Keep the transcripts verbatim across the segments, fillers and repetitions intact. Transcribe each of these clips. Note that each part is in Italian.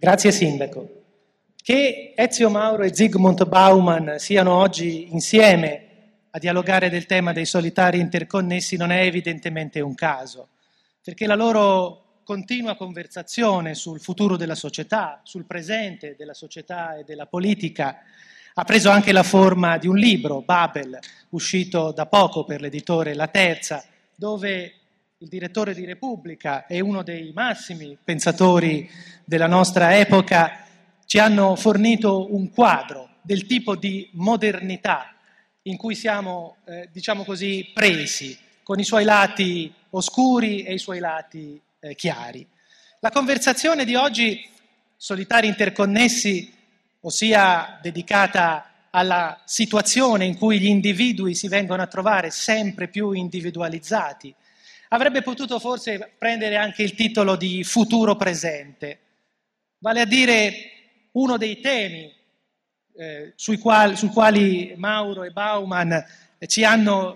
Grazie Sindaco. Che Ezio Mauro e Zygmunt Bauman siano oggi insieme a dialogare del tema dei solitari interconnessi non è evidentemente un caso, perché la loro continua conversazione sul futuro della società, sul presente della società e della politica, ha preso anche la forma di un libro, Babel, uscito da poco per l'editore La Terza, dove il direttore di Repubblica e uno dei massimi pensatori della nostra epoca ci hanno fornito un quadro del tipo di modernità in cui siamo, eh, diciamo così, presi, con i suoi lati oscuri e i suoi lati eh, chiari. La conversazione di oggi, Solitari interconnessi, ossia dedicata alla situazione in cui gli individui si vengono a trovare sempre più individualizzati, avrebbe potuto forse prendere anche il titolo di futuro presente, vale a dire uno dei temi eh, sui quali, sui quali Mauro e Bauman eh, ci hanno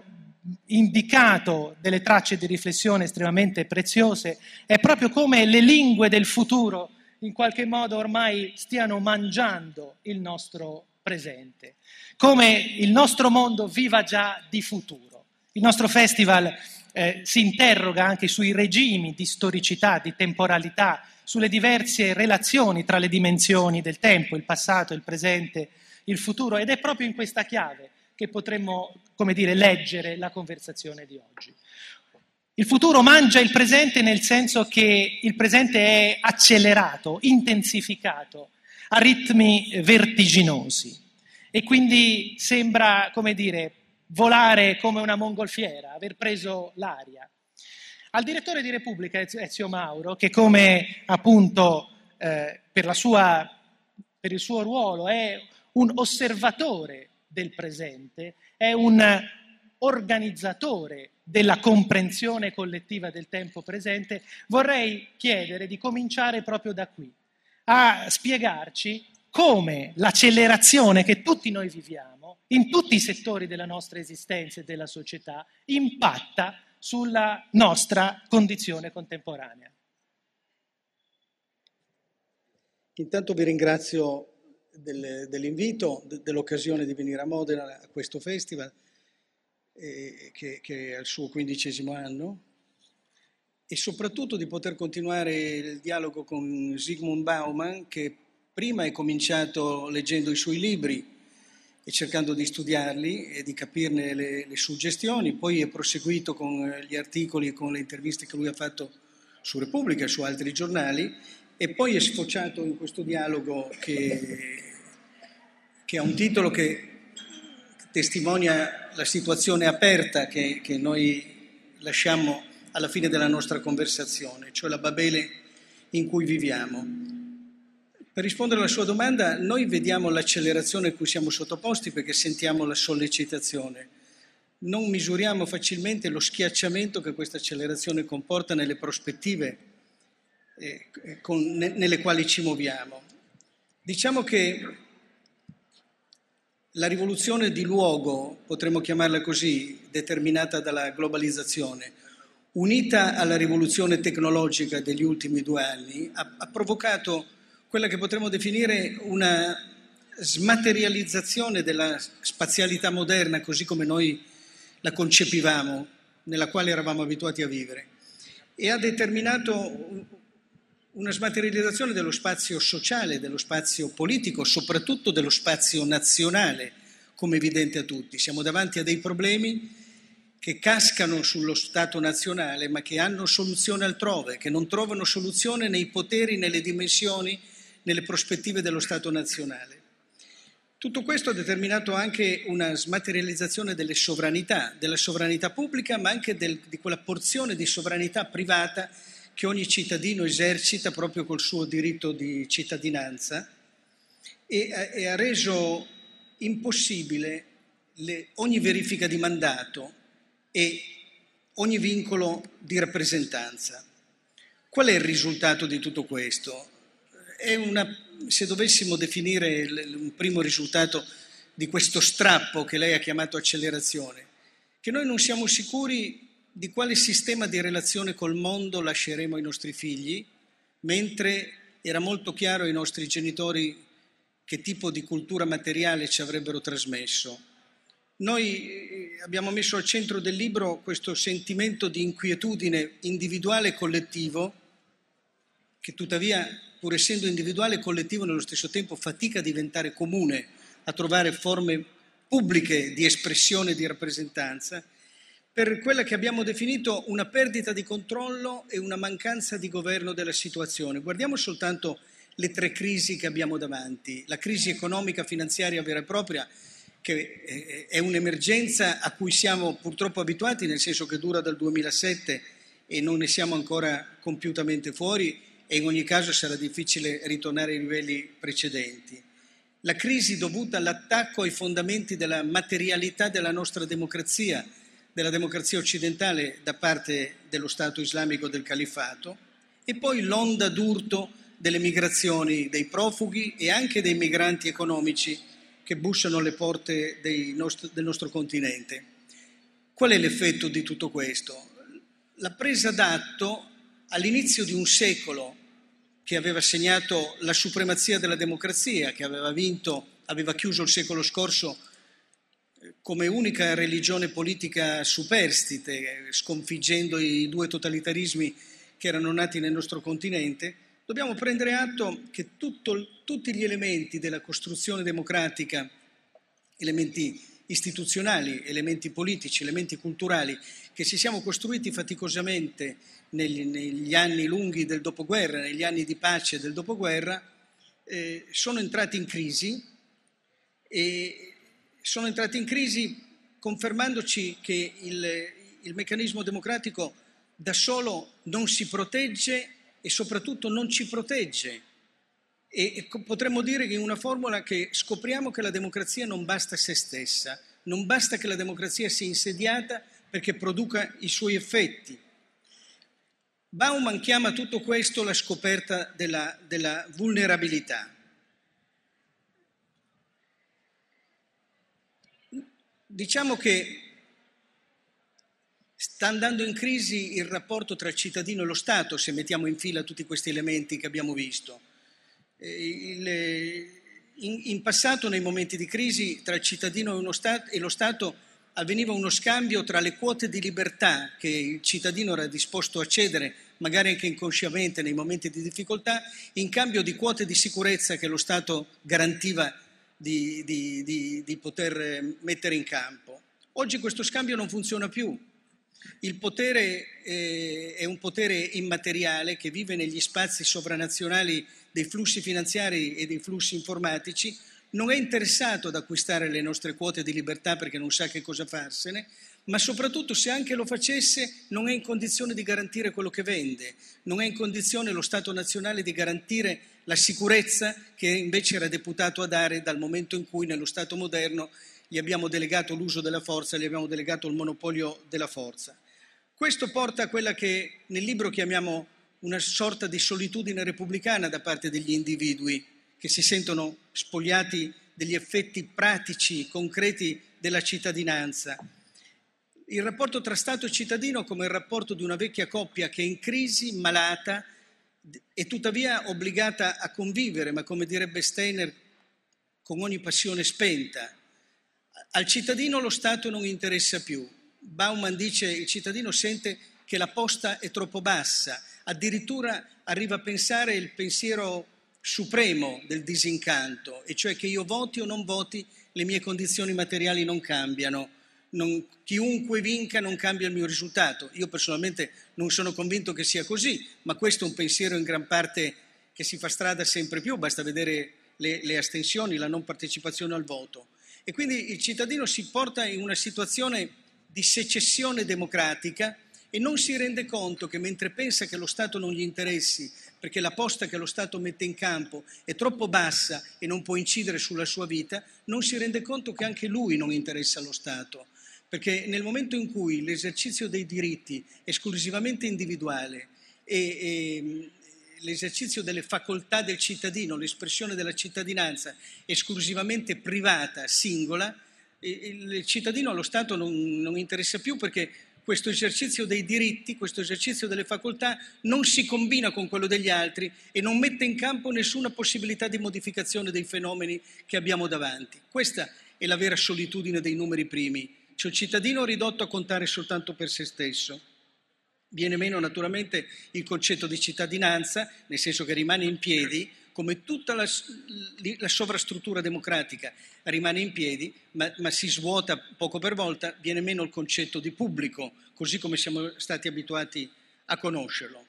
indicato delle tracce di riflessione estremamente preziose, è proprio come le lingue del futuro in qualche modo ormai stiano mangiando il nostro presente, come il nostro mondo viva già di futuro. Il nostro festival eh, si interroga anche sui regimi di storicità, di temporalità, sulle diverse relazioni tra le dimensioni del tempo, il passato, il presente, il futuro, ed è proprio in questa chiave che potremmo, come dire, leggere la conversazione di oggi. Il futuro mangia il presente nel senso che il presente è accelerato, intensificato, a ritmi vertiginosi e quindi sembra, come dire, volare come una mongolfiera, aver preso l'aria. Al direttore di Repubblica, Ezio Mauro, che come appunto eh, per, la sua, per il suo ruolo è un osservatore del presente, è un organizzatore della comprensione collettiva del tempo presente, vorrei chiedere di cominciare proprio da qui, a spiegarci come l'accelerazione che tutti noi viviamo, in tutti i settori della nostra esistenza e della società, impatta sulla nostra condizione contemporanea. Intanto vi ringrazio del, dell'invito, de, dell'occasione di venire a Modena a questo festival, eh, che, che è al suo quindicesimo anno, e soprattutto di poter continuare il dialogo con Zygmunt Bauman, che prima è cominciato leggendo i suoi libri e cercando di studiarli e di capirne le, le suggestioni, poi è proseguito con gli articoli e con le interviste che lui ha fatto su Repubblica e su altri giornali, e poi è sfociato in questo dialogo che, che ha un titolo che testimonia la situazione aperta che, che noi lasciamo alla fine della nostra conversazione, cioè la Babele in cui viviamo. Per rispondere alla sua domanda, noi vediamo l'accelerazione a cui siamo sottoposti perché sentiamo la sollecitazione. Non misuriamo facilmente lo schiacciamento che questa accelerazione comporta nelle prospettive eh, con, ne, nelle quali ci muoviamo. Diciamo che la rivoluzione di luogo, potremmo chiamarla così, determinata dalla globalizzazione, unita alla rivoluzione tecnologica degli ultimi due anni, ha, ha provocato quella che potremmo definire una smaterializzazione della spazialità moderna, così come noi la concepivamo, nella quale eravamo abituati a vivere, e ha determinato una smaterializzazione dello spazio sociale, dello spazio politico, soprattutto dello spazio nazionale, come evidente a tutti. Siamo davanti a dei problemi che cascano sullo Stato nazionale, ma che hanno soluzione altrove, che non trovano soluzione nei poteri, nelle dimensioni, nelle prospettive dello Stato nazionale. Tutto questo ha determinato anche una smaterializzazione delle sovranità, della sovranità pubblica, ma anche del, di quella porzione di sovranità privata che ogni cittadino esercita proprio col suo diritto di cittadinanza, e, e ha reso impossibile le, ogni verifica di mandato e ogni vincolo di rappresentanza. Qual è il risultato di tutto questo? È una, se dovessimo definire un primo risultato di questo strappo che lei ha chiamato accelerazione, che noi non siamo sicuri di quale sistema di relazione col mondo lasceremo ai nostri figli, mentre era molto chiaro ai nostri genitori che tipo di cultura materiale ci avrebbero trasmesso. Noi abbiamo messo al centro del libro questo sentimento di inquietudine individuale e collettivo, che tuttavia, pur essendo individuale e collettivo, nello stesso tempo fatica a diventare comune, a trovare forme pubbliche di espressione e di rappresentanza, per quella che abbiamo definito una perdita di controllo e una mancanza di governo della situazione. Guardiamo soltanto le tre crisi che abbiamo davanti. La crisi economica, finanziaria vera e propria, che è un'emergenza a cui siamo purtroppo abituati, nel senso che dura dal duemilasette e non ne siamo ancora compiutamente fuori, e in ogni caso sarà difficile ritornare ai livelli precedenti. La crisi dovuta all'attacco ai fondamenti della materialità della nostra democrazia, della democrazia occidentale da parte dello Stato islamico del Califfato, e poi l'onda d'urto delle migrazioni dei profughi e anche dei migranti economici che bussano alle porte dei nostri, del nostro continente. Qual è l'effetto di tutto questo? La presa d'atto all'inizio di un secolo che aveva segnato la supremazia della democrazia, che aveva vinto, aveva chiuso il secolo scorso come unica religione politica superstite, sconfiggendo i due totalitarismi che erano nati nel nostro continente. Dobbiamo prendere atto che tutto, tutti gli elementi della costruzione democratica, elementi istituzionali, elementi politici, elementi culturali, che ci siamo costruiti faticosamente negli, negli anni lunghi del dopoguerra, negli anni di pace del dopoguerra, eh, sono entrati in crisi e sono entrati in crisi confermandoci che il, il meccanismo democratico da solo non si protegge e soprattutto non ci protegge. E potremmo dire che in una formula che scopriamo che la democrazia non basta a se stessa, non basta che la democrazia sia insediata perché produca i suoi effetti. Bauman chiama tutto questo la scoperta della, della vulnerabilità. Diciamo che sta andando in crisi il rapporto tra il cittadino e lo Stato, se mettiamo in fila tutti questi elementi che abbiamo visto. Il, in, in passato, nei momenti di crisi tra il cittadino e, uno Stato, e lo Stato, avveniva uno scambio tra le quote di libertà che il cittadino era disposto a cedere, magari anche inconsciamente nei momenti di difficoltà, in cambio di quote di sicurezza che lo Stato garantiva di, di, di, di poter mettere in campo. Oggi questo scambio non funziona più. Il potere eh, è un potere immateriale che vive negli spazi sovranazionali dei flussi finanziari e dei flussi informatici, non è interessato ad acquistare le nostre quote di libertà perché non sa che cosa farsene, ma soprattutto, se anche lo facesse, non è in condizione di garantire quello che vende, non è in condizione lo Stato nazionale di garantire la sicurezza che invece era deputato a dare dal momento in cui nello Stato moderno gli abbiamo delegato l'uso della forza, gli abbiamo delegato il monopolio della forza. Questo porta a quella che nel libro chiamiamo una sorta di solitudine repubblicana da parte degli individui che si sentono spogliati degli effetti pratici, concreti della cittadinanza. Il rapporto tra Stato e cittadino come il rapporto di una vecchia coppia che è in crisi, malata e tuttavia obbligata a convivere, ma come direbbe Steiner, con ogni passione spenta. Al cittadino lo Stato non interessa più. Bauman dice che il cittadino sente che la posta è troppo bassa, addirittura arriva a pensare il pensiero supremo del disincanto, e cioè che io voti o non voti, le mie condizioni materiali non cambiano, non, chiunque vinca non cambia il mio risultato. Io personalmente non sono convinto che sia così, ma questo è un pensiero in gran parte che si fa strada sempre più, basta vedere le, le astensioni, la non partecipazione al voto. E quindi il cittadino si porta in una situazione di secessione democratica e non si rende conto che, mentre pensa che lo Stato non gli interessi, perché la posta che lo Stato mette in campo è troppo bassa e non può incidere sulla sua vita, non si rende conto che anche lui non interessa allo Stato. Perché nel momento in cui l'esercizio dei diritti esclusivamente individuale e, e l'esercizio delle facoltà del cittadino, l'espressione della cittadinanza esclusivamente privata, singola, il cittadino allo Stato non, non interessa più, perché questo esercizio dei diritti, questo esercizio delle facoltà non si combina con quello degli altri e non mette in campo nessuna possibilità di modificazione dei fenomeni che abbiamo davanti. Questa è la vera solitudine dei numeri primi, cioè il cittadino ridotto a contare soltanto per se stesso. Viene meno naturalmente il concetto di cittadinanza, nel senso che rimane in piedi, come tutta la, la sovrastruttura democratica rimane in piedi, ma, ma si svuota poco per volta, viene meno il concetto di pubblico, così come siamo stati abituati a conoscerlo.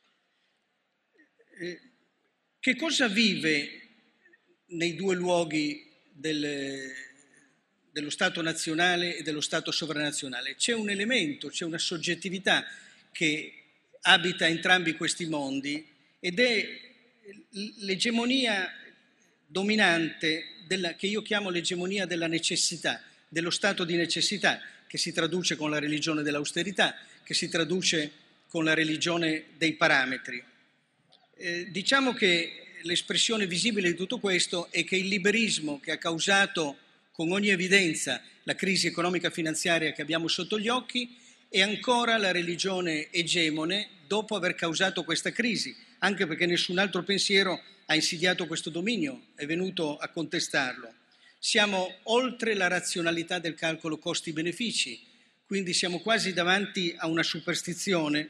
Eh, che cosa vive nei due luoghi del, dello Stato nazionale e dello Stato sovranazionale? C'è un elemento, c'è una soggettività che abita entrambi questi mondi ed è l'egemonia dominante della, che io chiamo l'egemonia della necessità, dello stato di necessità, che si traduce con la religione dell'austerità, che si traduce con la religione dei parametri. Eh, diciamo che l'espressione visibile di tutto questo è che il liberismo che ha causato con ogni evidenza la crisi economica finanziaria che abbiamo sotto gli occhi è ancora la religione egemone dopo aver causato questa crisi, anche perché nessun altro pensiero ha insidiato questo dominio, è venuto a contestarlo. Siamo oltre la razionalità del calcolo costi-benefici, quindi siamo quasi davanti a una superstizione.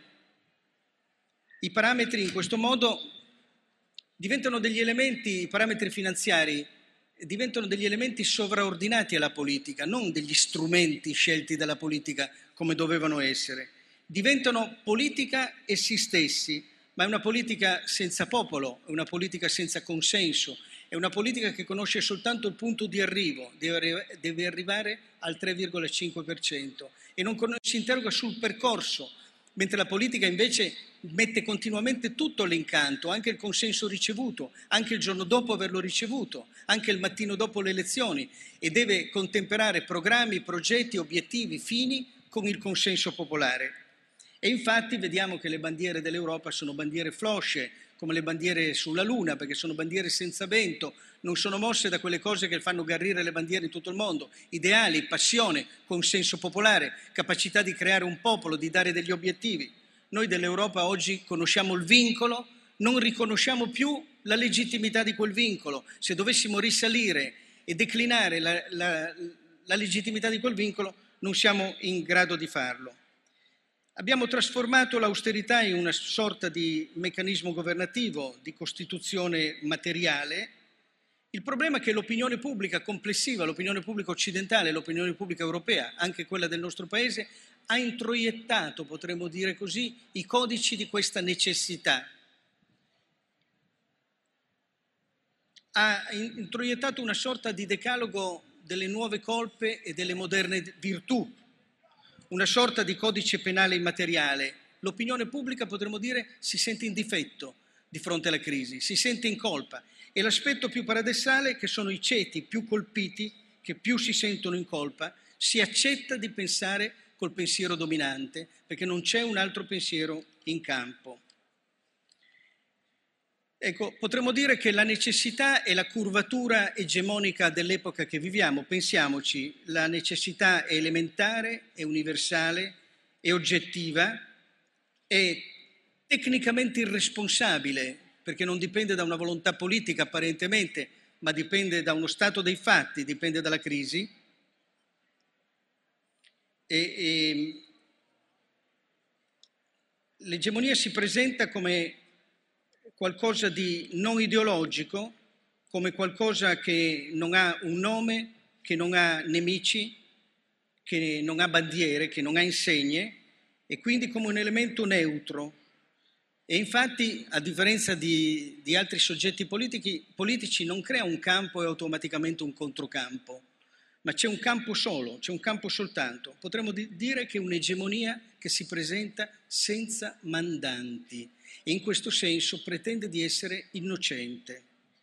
I parametri in questo modo diventano degli elementi, i parametri finanziari diventano degli elementi sovraordinati alla politica, non degli strumenti scelti dalla politica come dovevano essere. Diventano politica essi stessi, ma è una politica senza popolo, è una politica senza consenso, è una politica che conosce soltanto il punto di arrivo, deve, deve arrivare al tre virgola cinque per cento e non si interroga sul percorso, mentre la politica invece mette continuamente tutto all'incanto, anche il consenso ricevuto, anche il giorno dopo averlo ricevuto, anche il mattino dopo le elezioni, e deve contemperare programmi, progetti, obiettivi, fini con il consenso popolare. E infatti vediamo che le bandiere dell'Europa sono bandiere flosce, come le bandiere sulla Luna, perché sono bandiere senza vento, non sono mosse da quelle cose che fanno garrire le bandiere in tutto il mondo, ideali, passione, consenso popolare, capacità di creare un popolo, di dare degli obiettivi. Noi dell'Europa oggi conosciamo il vincolo, non riconosciamo più la legittimità di quel vincolo. Se dovessimo risalire e declinare la, la, la legittimità di quel vincolo, non siamo in grado di farlo. Abbiamo trasformato l'austerità in una sorta di meccanismo governativo, di costituzione materiale. Il problema è che l'opinione pubblica complessiva, l'opinione pubblica occidentale, l'opinione pubblica europea, anche quella del nostro Paese, ha introiettato, potremmo dire così, i codici di questa necessità. Ha introiettato una sorta di decalogo delle nuove colpe e delle moderne virtù, una sorta di codice penale immateriale. L'opinione pubblica, potremmo dire, si sente in difetto di fronte alla crisi, si sente in colpa. E l'aspetto più paradossale è che sono i ceti più colpiti, che più si sentono in colpa, si accetta di pensare col pensiero dominante, perché non c'è un altro pensiero in campo. Ecco, potremmo dire che la necessità è la curvatura egemonica dell'epoca che viviamo. Pensiamoci, la necessità è elementare, è universale, è oggettiva, è tecnicamente irresponsabile, perché non dipende da una volontà politica apparentemente, ma dipende da uno stato dei fatti, dipende dalla crisi. E, e, l'egemonia si presenta come qualcosa di non ideologico, come qualcosa che non ha un nome, che non ha nemici, che non ha bandiere, che non ha insegne, e quindi come un elemento neutro. E infatti, a differenza di, di altri soggetti politici, politici, non crea un campo e automaticamente un controcampo, ma c'è un campo solo, c'è un campo soltanto. Potremmo di- dire che è un'egemonia che si presenta senza mandanti e in questo senso pretende di essere innocente.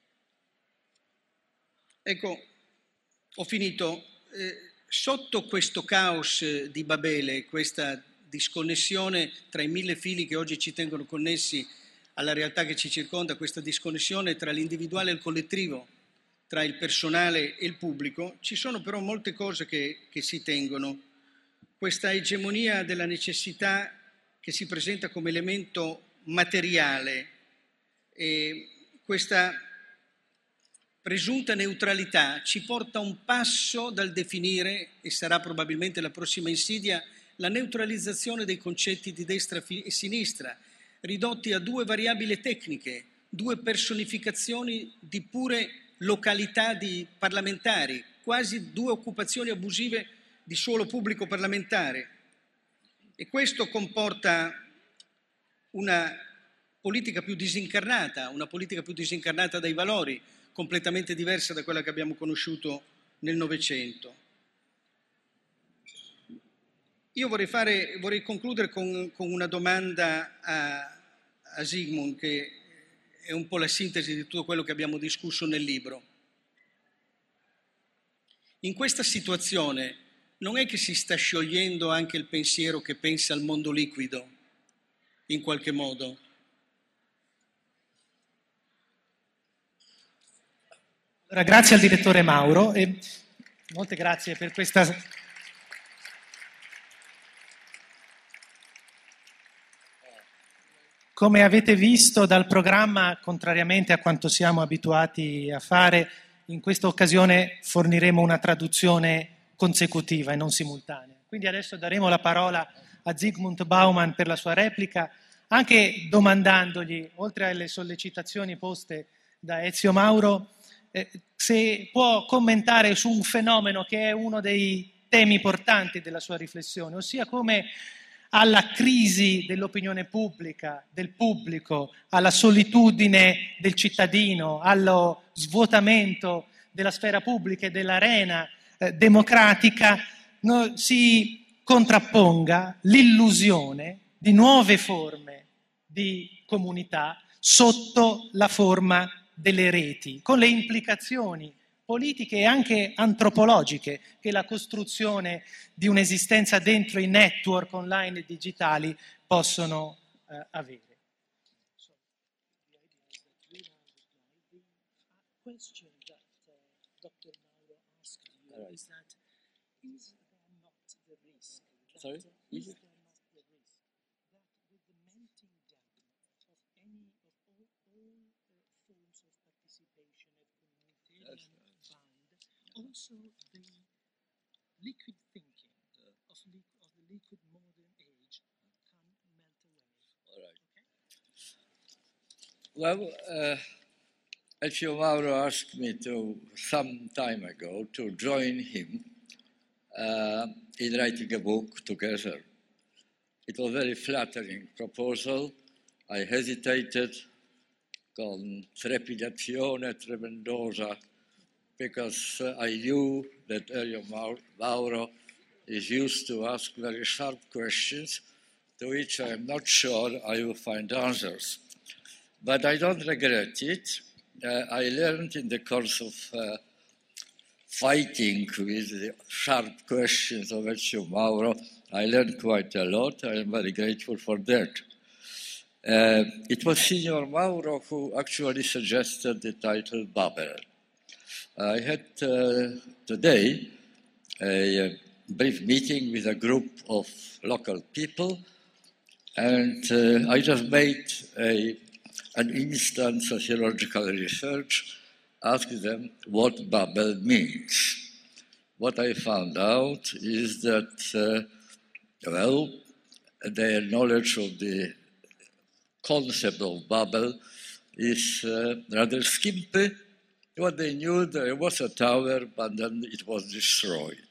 Ecco, ho finito. Eh, sotto questo caos di Babele, questa disconnessione tra i mille fili che oggi ci tengono connessi alla realtà che ci circonda, questa disconnessione tra l'individuale e il collettivo, tra il personale e il pubblico, ci sono però molte cose che, che si tengono. questa egemonia della necessità che si presenta come elemento materiale e questa presunta neutralità ci porta un passo dal definire, e sarà probabilmente la prossima insidia, la neutralizzazione dei concetti di destra e sinistra, ridotti a due variabili tecniche, due personificazioni di pure località di parlamentari, quasi due occupazioni abusive di suolo pubblico parlamentare. E questo comporta una politica più disincarnata, una politica più disincarnata dai valori, completamente diversa da quella che abbiamo conosciuto nel Novecento. Io vorrei, fare, vorrei concludere con, con una domanda a, a Zygmunt, che è un po' la sintesi di tutto quello che abbiamo discusso nel libro. In questa situazione non è che si sta sciogliendo anche il pensiero che pensa al mondo liquido, in qualche modo? Allora, grazie al direttore Mauro e molte grazie per questa... Come avete visto dal programma, contrariamente a quanto siamo abituati a fare, in questa occasione forniremo una traduzione consecutiva e non simultanea. Quindi adesso daremo la parola a Zygmunt Bauman per la sua replica, anche domandandogli, oltre alle sollecitazioni poste da Ezio Mauro, eh, se può commentare su un fenomeno che è uno dei temi portanti della sua riflessione, ossia come alla crisi dell'opinione pubblica, del pubblico, alla solitudine del cittadino, allo svuotamento della sfera pubblica e dell'arena eh, democratica, no, si contrapponga l'illusione di nuove forme di comunità sotto la forma delle reti, con le implicazioni politiche e anche antropologiche che la costruzione di un'esistenza dentro i network online e digitali possono eh, avere. Sorry? Is it? Also, the liquid thinking of, li- of the liquid modern age can melt away. All right. Okay? Well, uh, Ezio Mauro asked me to, some time ago, to join him uh, in writing a book together. It was a very flattering proposal. I hesitated con trepidazione tremendosa, because uh, I knew that Ezio Mauro is used to ask very sharp questions to which I am not sure I will find answers. But I don't regret it. Uh, I learned in the course of uh, fighting with the sharp questions of Ezio Mauro, I learned quite a lot. I am very grateful for that. Uh, it was Signor Mauro who actually suggested the title Babel. I had uh, today a, a brief meeting with a group of local people, and uh, I just made a, an instant sociological research, asked them what Babel means. What I found out is that, uh, well, their knowledge of the concept of Babel is uh, rather skimpy. What they knew, there was a tower, but then it was destroyed.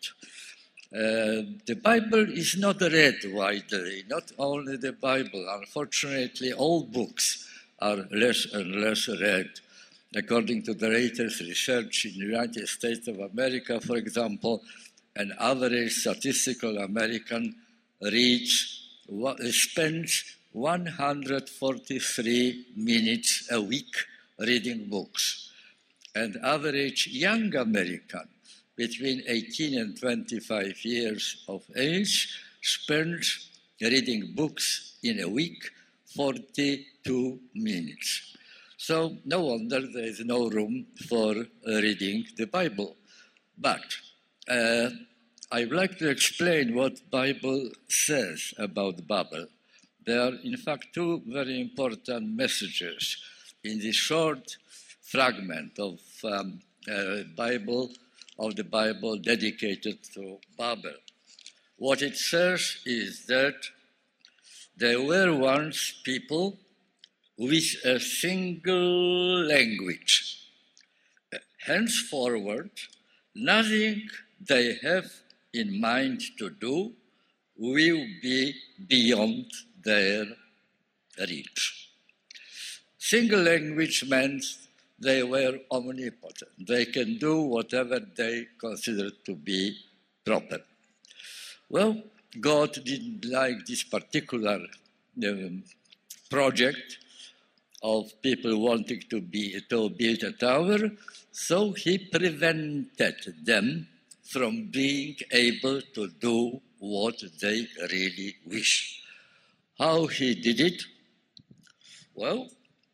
Uh, the Bible is not read widely, not only the Bible. Unfortunately, all books are less and less read. According to the latest research in the United States of America, for example, an average statistical American reads, spends one hundred forty-three minutes a week reading books. An average young American between eighteen and twenty-five years of age spends reading books in a week forty-two minutes. So no wonder there is no room for reading the Bible. But uh, I'd like to explain what Bible says about Babel. There are, in fact, two very important messages in this short fragment of um, uh, Bible, of the Bible dedicated to Babel. What it says is that there were once people with a single language. Henceforward, nothing they have in mind to do will be beyond their reach. Single language meant they were omnipotent. They can do whatever they consider to be proper. Well, God didn't like this particular um, project of people wanting to, be, to build a tower, so he prevented them from being able to do what they really wish. How he did it? Well,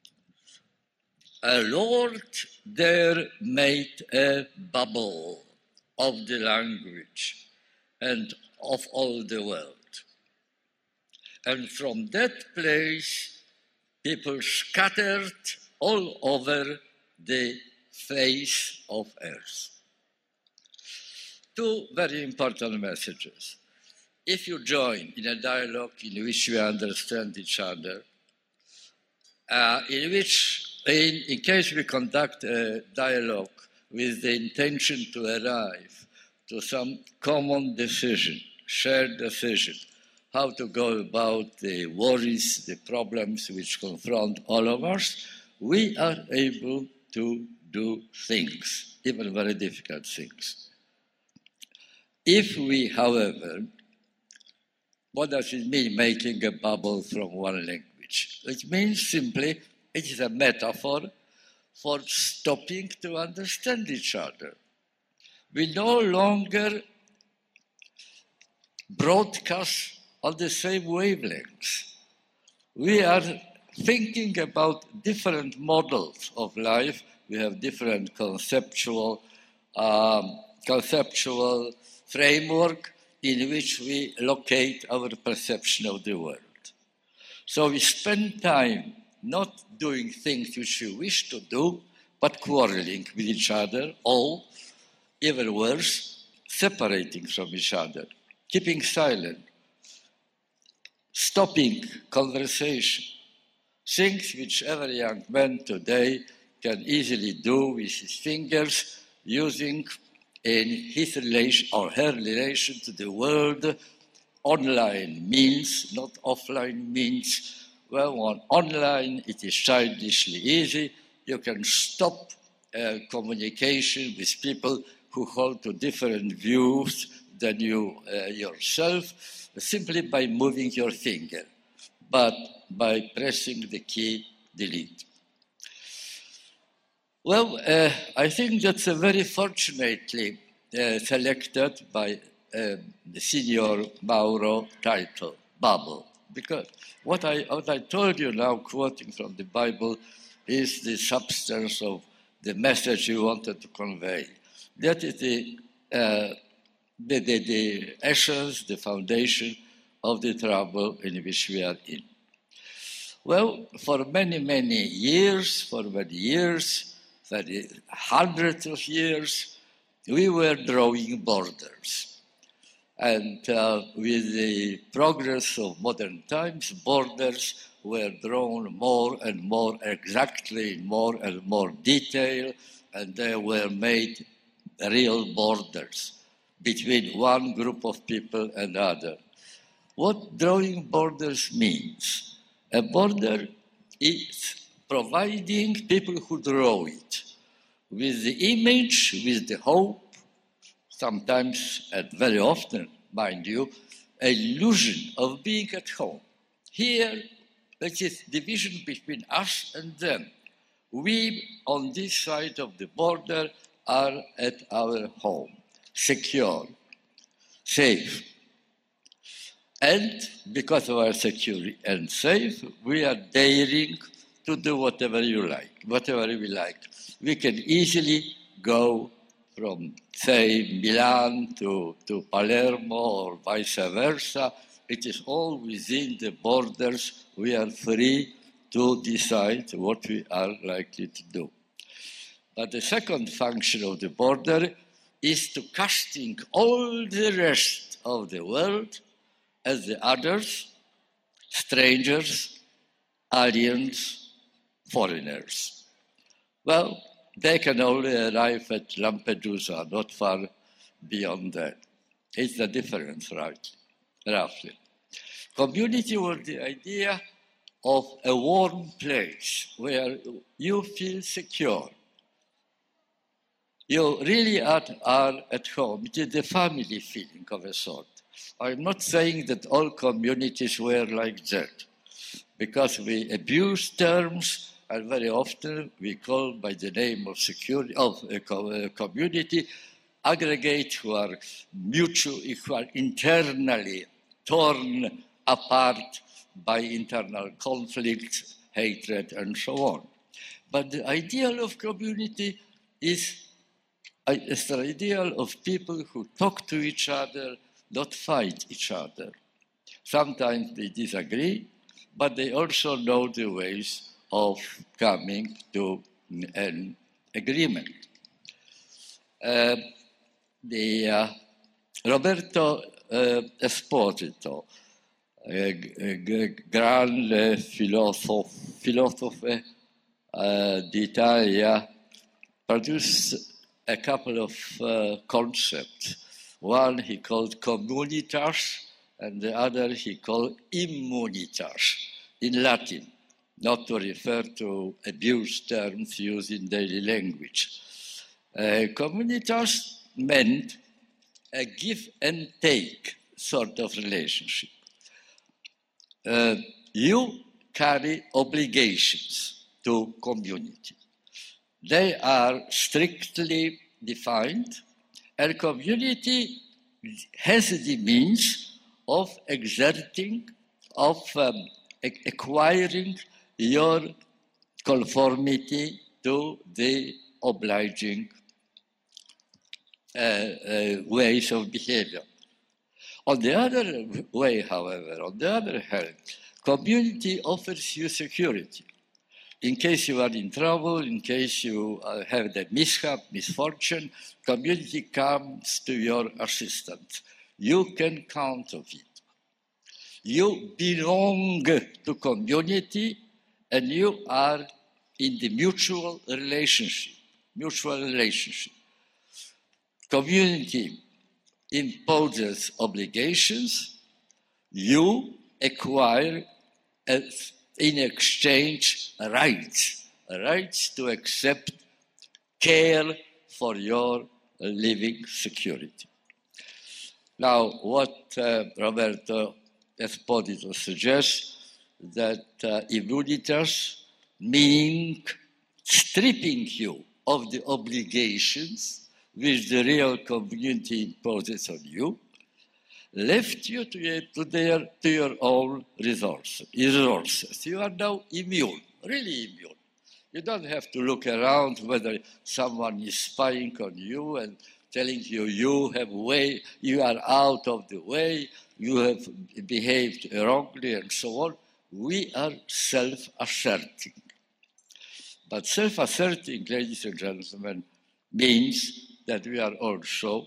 a Lord there made a bubble of the language and of all the world. And from that place, people scattered all over the face of earth. Two very important messages. If you join in a dialogue in which you understand each other, uh, in which, in, in case we conduct a dialogue with the intention to arrive to some common decision, shared decision, how to go about the worries, the problems which confront all of us, we are able to do things, even very difficult things. If we, however, what does it mean, making a bubble from one language? It means simply, it is a metaphor for stopping to understand each other. We no longer broadcast on the same wavelengths. We are thinking about different models of life. We have different conceptual, um, conceptual framework in which we locate our perception of the world. So we spend time not doing things which we wish to do, but quarreling with each other, or, even worse, separating from each other, keeping silent, stopping conversation, things which every young man today can easily do with his fingers, using in his relation or her relation to the world online means, not offline means. Well, on online it is childishly easy. You can stop uh, communication with people who hold to different views than you uh, yourself, simply by moving your finger, but by pressing the key delete. Well, uh, I think that's a very fortunately uh, selected by uh, the Signor Mauro title, Babel, because what I, what I told you now, quoting from the Bible, is the substance of the message he wanted to convey. That is the, uh, the, the, the essence, the foundation of the trouble in which we are in. Well, for many, many years, for many years, for hundreds of years, we were drawing borders. And uh, with the progress of modern times, borders were drawn more and more exactly, more and more detail, and they were made real borders between one group of people and other. What drawing borders means? A border is providing people who draw it with the image, with the hope, sometimes and very often, mind you, an illusion of being at home. Here, there is division between us and them. We, on this side of the border, are at our home, secure, safe. And because of our security and safe, we are daring to do whatever you like, whatever we like. We can easily go from, say, Milan to, to Palermo or vice versa. It is all within the borders. We are free to decide what we are likely to do. But the second function of the border is to casting all the rest of the world as the others, strangers, aliens, foreigners. Well, they can only arrive at Lampedusa, not far beyond that. It's the difference, right? Roughly. Community was the idea of a warm place where you feel secure. You really are, are at home. It is the family feeling of a sort. I'm not saying that all communities were like that, because we abuse terms, and very often we call by the name of security of a community aggregate who are mutually, who are internally torn apart by internal conflicts, hatred, and so on. But the ideal of community is It's the ideal of people who talk to each other, not fight each other. Sometimes they disagree, but they also know the ways of coming to an agreement. Uh, the, uh, Roberto uh, Esposito, a, a grande philosophe, philosopher uh, d'Italia, produced a couple of uh, concepts. One he called communitas, and the other he called immunitas in Latin, not to refer to abused terms used in daily language. Uh, communitas meant a give and take sort of relationship. Uh, you carry obligations to community. They are strictly defined, and community has the means of exerting, of um, acquiring your conformity to the obliging uh, uh, ways of behavior. On the other way, however, on the other hand, community offers you security. In case you are in trouble, in case you uh, have the mishap, misfortune, community comes to your assistance. You can count on it. You belong to community, and you are in the mutual relationship. Mutual relationship. Community imposes obligations. You acquire as in exchange rights, rights to accept care for your living security. Now, what uh, Roberto Esposito suggests, that uh, immunitas mean stripping you of the obligations which the real community imposes on you, left you to, your, to, their, to your own resources. resources. You are now immune, really immune. You don't have to look around whether someone is spying on you and telling you you have way, you are out of the way, you have behaved wrongly, and so on. We are self-asserting. But self-asserting, ladies and gentlemen, means that we are also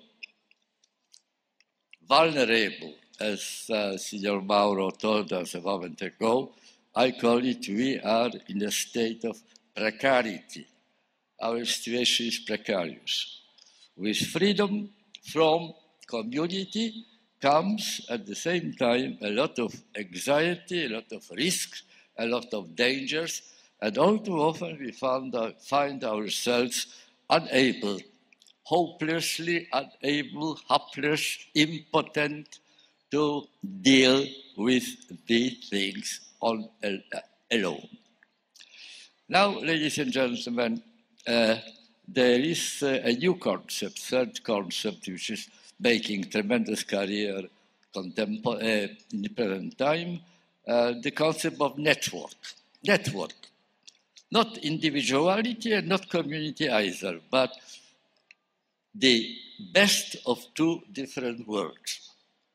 vulnerable, as uh, Signor Mauro told us a moment ago. I call it we are in a state of precarity. Our situation is precarious. With freedom from community comes at the same time a lot of anxiety, a lot of risks, a lot of dangers, and all too often we found, uh, find ourselves unable, hopelessly unable, helpless, impotent to deal with these things on, uh, alone. Now, ladies and gentlemen, uh, there is uh, a new concept, third concept, which is making tremendous career contempor- uh, in the present time, uh, the concept of network. Network. Not individuality and not community either, but the best of two different worlds.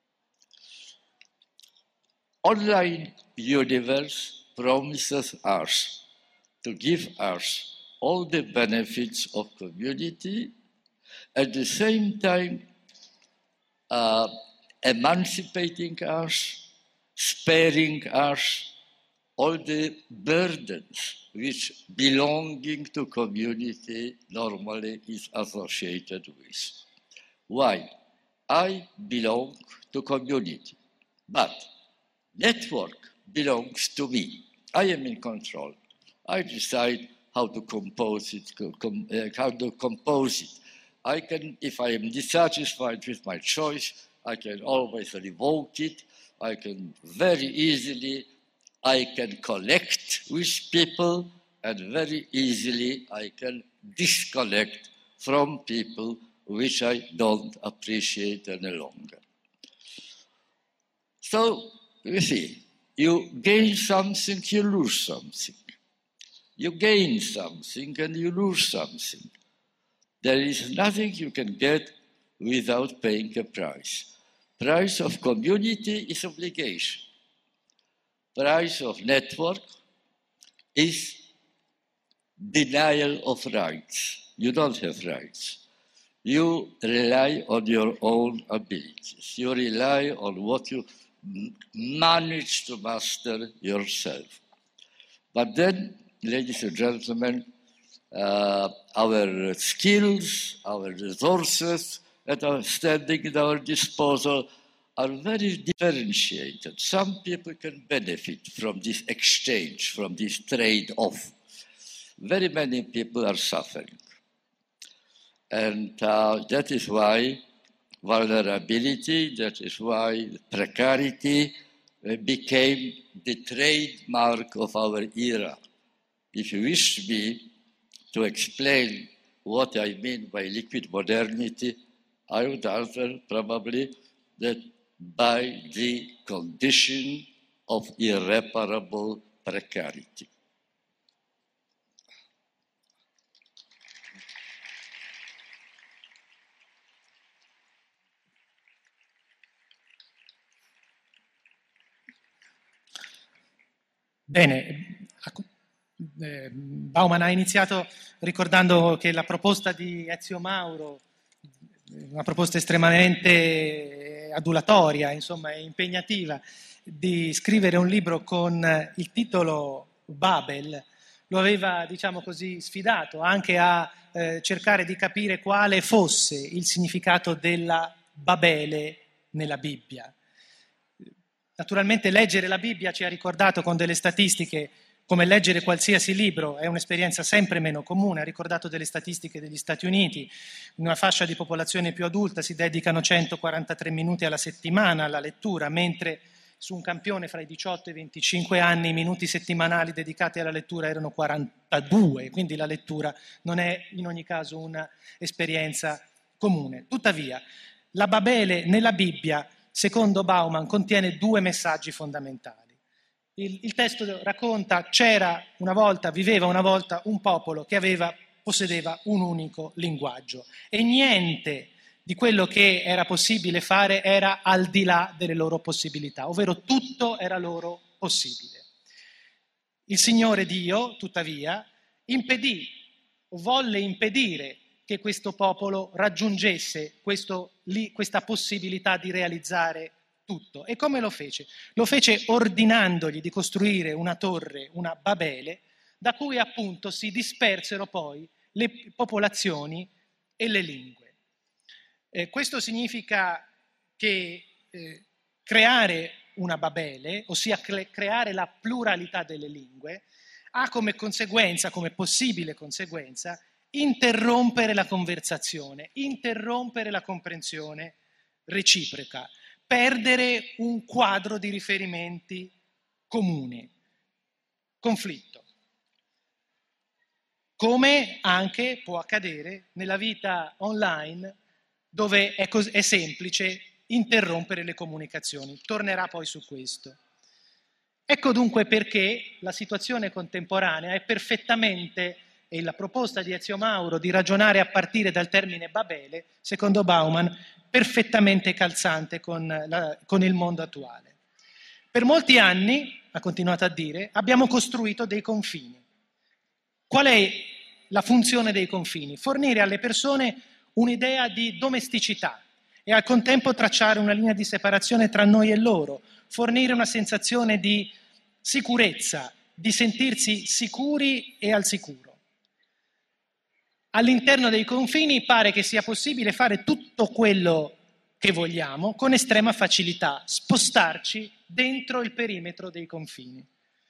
Online universe promises us to give us all the benefits of community, at the same time uh, emancipating us, sparing us all the burdens which belonging to community normally is associated with. Why? I belong to community, but network belongs to me. I am in control. I decide how to compose it, com, uh, how to compose it. I can, if I am dissatisfied with my choice, I can always revoke it. I can very easily, I can connect with people, and very easily I can disconnect from people which I don't appreciate any longer. So, you see, you gain something, you lose something. You gain something and you lose something. There is nothing you can get without paying a price. Price of community is obligation. Price of network is denial of rights. You don't have rights. You rely on your own abilities. You rely on what you manage to master yourself. But then, ladies and gentlemen, uh, our skills, our resources that are standing at our disposal are very differentiated. Some people can benefit from this exchange, from this trade-off. Very many people are suffering. And uh, that is why vulnerability, that is why precarity uh, became the trademark of our era. If you wish me to explain what I mean by liquid modernity, I would answer probably that by the condition of irreparable precarity. Bene, eh, Bauman ha iniziato ricordando che la proposta di Ezio Mauro, una proposta estremamente adulatoria, insomma impegnativa, di scrivere un libro con il titolo Babel, lo aveva, diciamo così, sfidato anche a eh, cercare di capire quale fosse il significato della Babele nella Bibbia. Naturalmente leggere la Bibbia ci ha ricordato con delle statistiche, come leggere qualsiasi libro, è un'esperienza sempre meno comune. Ha ricordato delle statistiche degli Stati Uniti, in una fascia di popolazione più adulta si dedicano centoquarantatré minuti alla settimana alla lettura, mentre su un campione fra i diciotto e i venticinque anni i minuti settimanali dedicati alla lettura erano quarantadue, quindi la lettura non è in ogni caso un'esperienza comune. Tuttavia, la Babele nella Bibbia, secondo Bauman, contiene due messaggi fondamentali. Il, il testo racconta, c'era una volta, viveva una volta un popolo che aveva, possedeva un unico linguaggio e niente di quello che era possibile fare era al di là delle loro possibilità, ovvero tutto era loro possibile. Il Signore Dio, tuttavia, impedì o volle impedire che questo popolo raggiungesse questo, li, questa possibilità di realizzare tutto. E come lo fece? Lo fece ordinandogli di costruire una torre, una Babele, da cui appunto si dispersero poi le popolazioni e le lingue. Eh, questo significa che eh, creare una Babele, ossia cre- creare la pluralità delle lingue, ha come conseguenza, come possibile conseguenza, interrompere la conversazione, interrompere la comprensione reciproca, perdere un quadro di riferimenti comune, conflitto. Come anche può accadere nella vita online, dove è, cos- è semplice interrompere le comunicazioni. Tornerà poi su questo. Ecco dunque perché la situazione contemporanea è perfettamente e la proposta di Ezio Mauro di ragionare a partire dal termine Babele, secondo Bauman, perfettamente calzante con, la, con il mondo attuale. Per molti anni, ha continuato a dire, abbiamo costruito dei confini. Qual è la funzione dei confini? Fornire alle persone un'idea di domesticità e al contempo tracciare una linea di separazione tra noi e loro, fornire una sensazione di sicurezza, di sentirsi sicuri e al sicuro. All'interno dei confini pare che sia possibile fare tutto quello che vogliamo con estrema facilità, spostarci dentro il perimetro dei confini.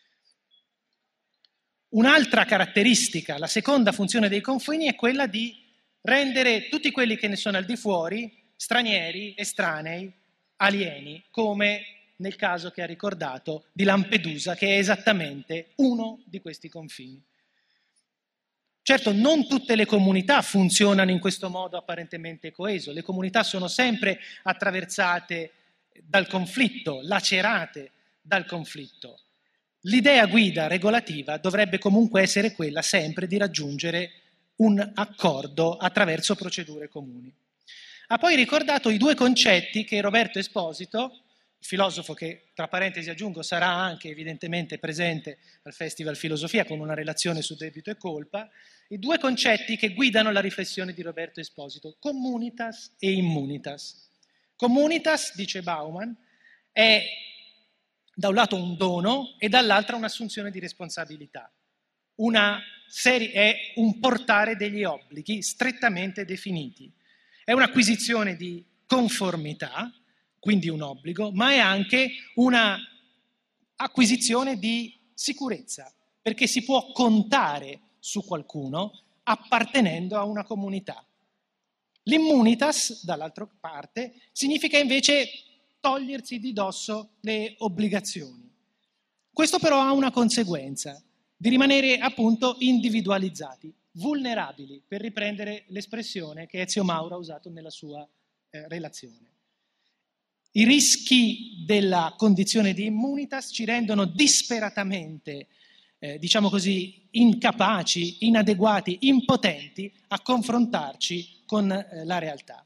Un'altra caratteristica, la seconda funzione dei confini, è quella di rendere tutti quelli che ne sono al di fuori stranieri, estranei, alieni, come nel caso che ha ricordato di Lampedusa, che è esattamente uno di questi confini. Certo, non tutte le comunità funzionano in questo modo apparentemente coeso. Le comunità sono sempre attraversate dal conflitto, lacerate dal conflitto. L'idea guida regolativa dovrebbe comunque essere quella sempre di raggiungere un accordo attraverso procedure comuni. Ha poi ricordato i due concetti che Roberto Esposito, il filosofo che, tra parentesi aggiungo, sarà anche evidentemente presente al Festival Filosofia con una relazione su debito e colpa, i due concetti che guidano la riflessione di Roberto Esposito, communitas e immunitas. Communitas, dice Bauman, è da un lato un dono e dall'altro un'assunzione di responsabilità. Una serie, è un portare degli obblighi strettamente definiti. È un'acquisizione di conformità, quindi un obbligo, ma è anche una acquisizione di sicurezza, perché si può contare su qualcuno appartenendo a una comunità. L'immunitas, dall'altra parte, significa invece togliersi di dosso le obbligazioni. Questo però ha una conseguenza, di rimanere appunto individualizzati, vulnerabili, per riprendere l'espressione che Ezio Mauro ha usato nella sua eh, relazione. I rischi della condizione di immunitas ci rendono disperatamente, eh, diciamo così, incapaci, inadeguati, impotenti a confrontarci con eh, la realtà.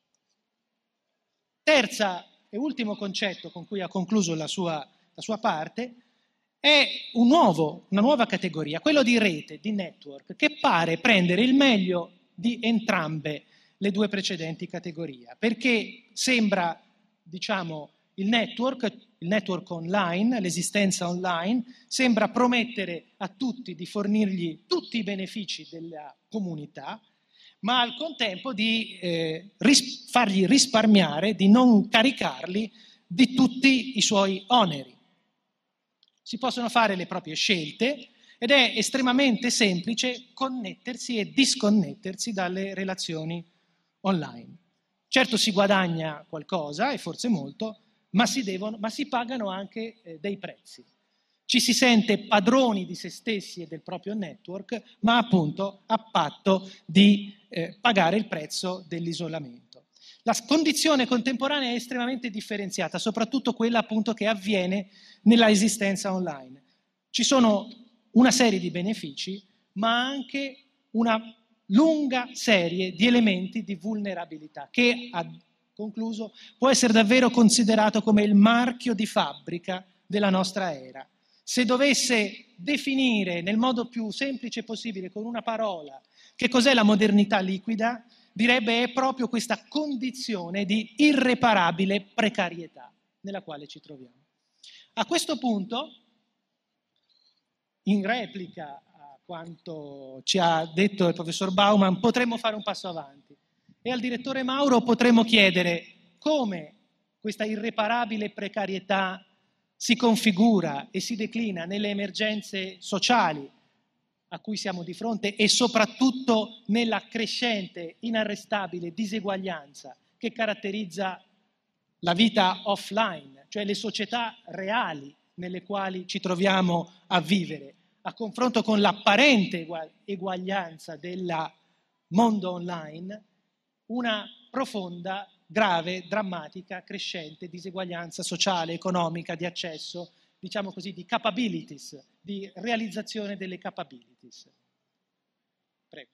Terza e ultimo concetto con cui ha concluso la sua, la sua parte è un nuovo, una nuova categoria, quello di rete, di network, che pare prendere il meglio di entrambe le due precedenti categorie, perché sembra, diciamo, il network, il network online, l'esistenza online, sembra promettere a tutti di fornirgli tutti i benefici della comunità, ma al contempo di eh, ris- fargli risparmiare, di non caricarli di tutti i suoi oneri. Si possono fare le proprie scelte ed è estremamente semplice connettersi e disconnettersi dalle relazioni online. Certo si guadagna qualcosa, e forse molto, ma si, devono, ma si pagano anche eh, dei prezzi. Ci si sente padroni di se stessi e del proprio network, ma appunto a patto di eh, pagare il prezzo dell'isolamento. La condizione contemporanea è estremamente differenziata, soprattutto quella appunto che avviene nella esistenza online. Ci sono una serie di benefici, ma anche una lunga serie di elementi di vulnerabilità che, ha concluso, può essere davvero considerato come il marchio di fabbrica della nostra era. Se dovesse definire nel modo più semplice possibile con una parola che cos'è la modernità liquida, direbbe è proprio questa condizione di irreparabile precarietà nella quale ci troviamo. A questo punto, in replica a quanto ci ha detto il professor Bauman, potremmo fare un passo avanti e al direttore Mauro potremmo chiedere come questa irreparabile precarietà si configura e si declina nelle emergenze sociali a cui siamo di fronte e soprattutto nella crescente, inarrestabile diseguaglianza che caratterizza la vita offline, cioè le società reali nelle quali ci troviamo a vivere, a confronto con l'apparente eguaglianza del mondo online, una profonda, grave, drammatica, crescente diseguaglianza sociale, economica, di accesso, diciamo così, di capabilities, di realizzazione delle capabilities. Prego.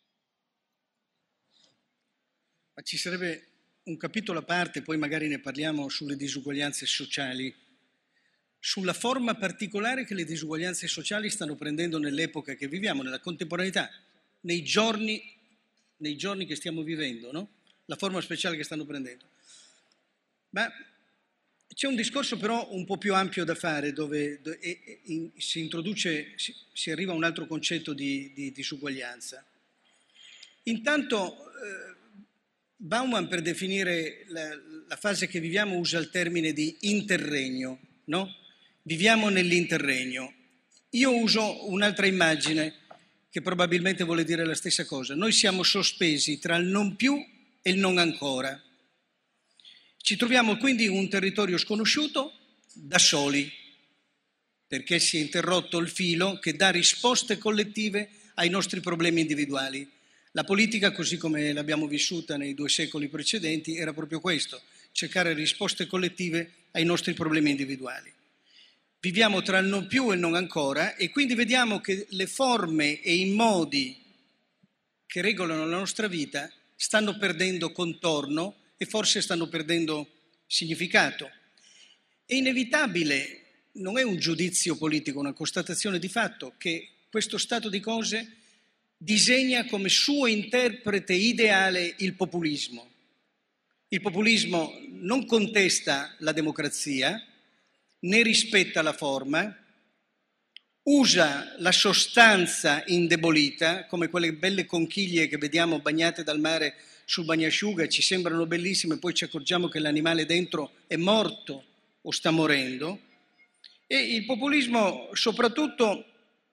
Ma ci sarebbe un capitolo a parte, poi magari ne parliamo, sulle disuguaglianze sociali, sulla forma particolare che le disuguaglianze sociali stanno prendendo nell'epoca che viviamo, nella contemporaneità, nei giorni, nei giorni che stiamo vivendo, no? La forma speciale che stanno prendendo. Ma c'è un discorso però un po' più ampio da fare, dove, dove e, e, si introduce, si, si arriva a un altro concetto di, di disuguaglianza. Intanto eh, Bauman, per definire la, la fase che viviamo, usa il termine di interregno, no? Viviamo nell'interregno. Io uso un'altra immagine che probabilmente vuole dire la stessa cosa. Noi siamo sospesi tra il non più e il non ancora. Ci troviamo quindi in un territorio sconosciuto da soli, perché si è interrotto il filo che dà risposte collettive ai nostri problemi individuali. La politica, così come l'abbiamo vissuta nei due secoli precedenti, era proprio questo, cercare risposte collettive ai nostri problemi individuali. Viviamo tra il non più e il non ancora e quindi vediamo che le forme e i modi che regolano la nostra vita stanno perdendo contorno e forse stanno perdendo significato. È inevitabile, non è un giudizio politico, una constatazione di fatto, che questo stato di cose disegna come suo interprete ideale il populismo. Il populismo non contesta la democrazia, ne rispetta la forma, usa la sostanza indebolita, come quelle belle conchiglie che vediamo bagnate dal mare sul bagnasciuga, ci sembrano bellissime, poi ci accorgiamo che l'animale dentro è morto o sta morendo. E il populismo soprattutto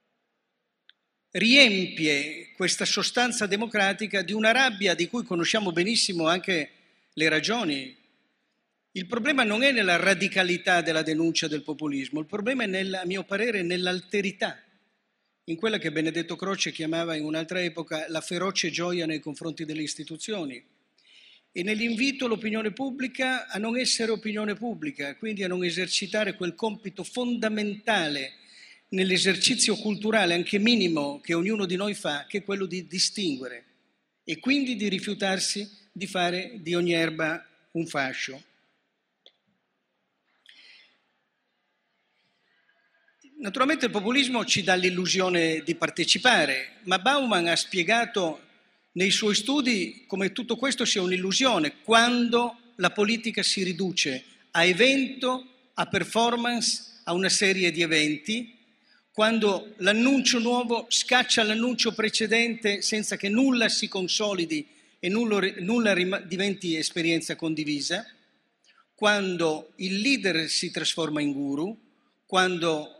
riempie questa sostanza democratica di una rabbia di cui conosciamo benissimo anche le ragioni. Il problema non è nella radicalità della denuncia del populismo, il problema è, nel, a mio parere, nell'alterità, in quella che Benedetto Croce chiamava in un'altra epoca la feroce gioia nei confronti delle istituzioni e nell'invito all'opinione pubblica a non essere opinione pubblica, quindi a non esercitare quel compito fondamentale nell'esercizio culturale, anche minimo, che ognuno di noi fa, che è quello di distinguere e quindi di rifiutarsi di fare di ogni erba un fascio. Naturalmente il populismo ci dà l'illusione di partecipare, ma Bauman ha spiegato nei suoi studi come tutto questo sia un'illusione, quando la politica si riduce a evento, a performance, a una serie di eventi, quando l'annuncio nuovo scaccia l'annuncio precedente senza che nulla si consolidi e nulla, nulla diventi esperienza condivisa, quando il leader si trasforma in guru, quando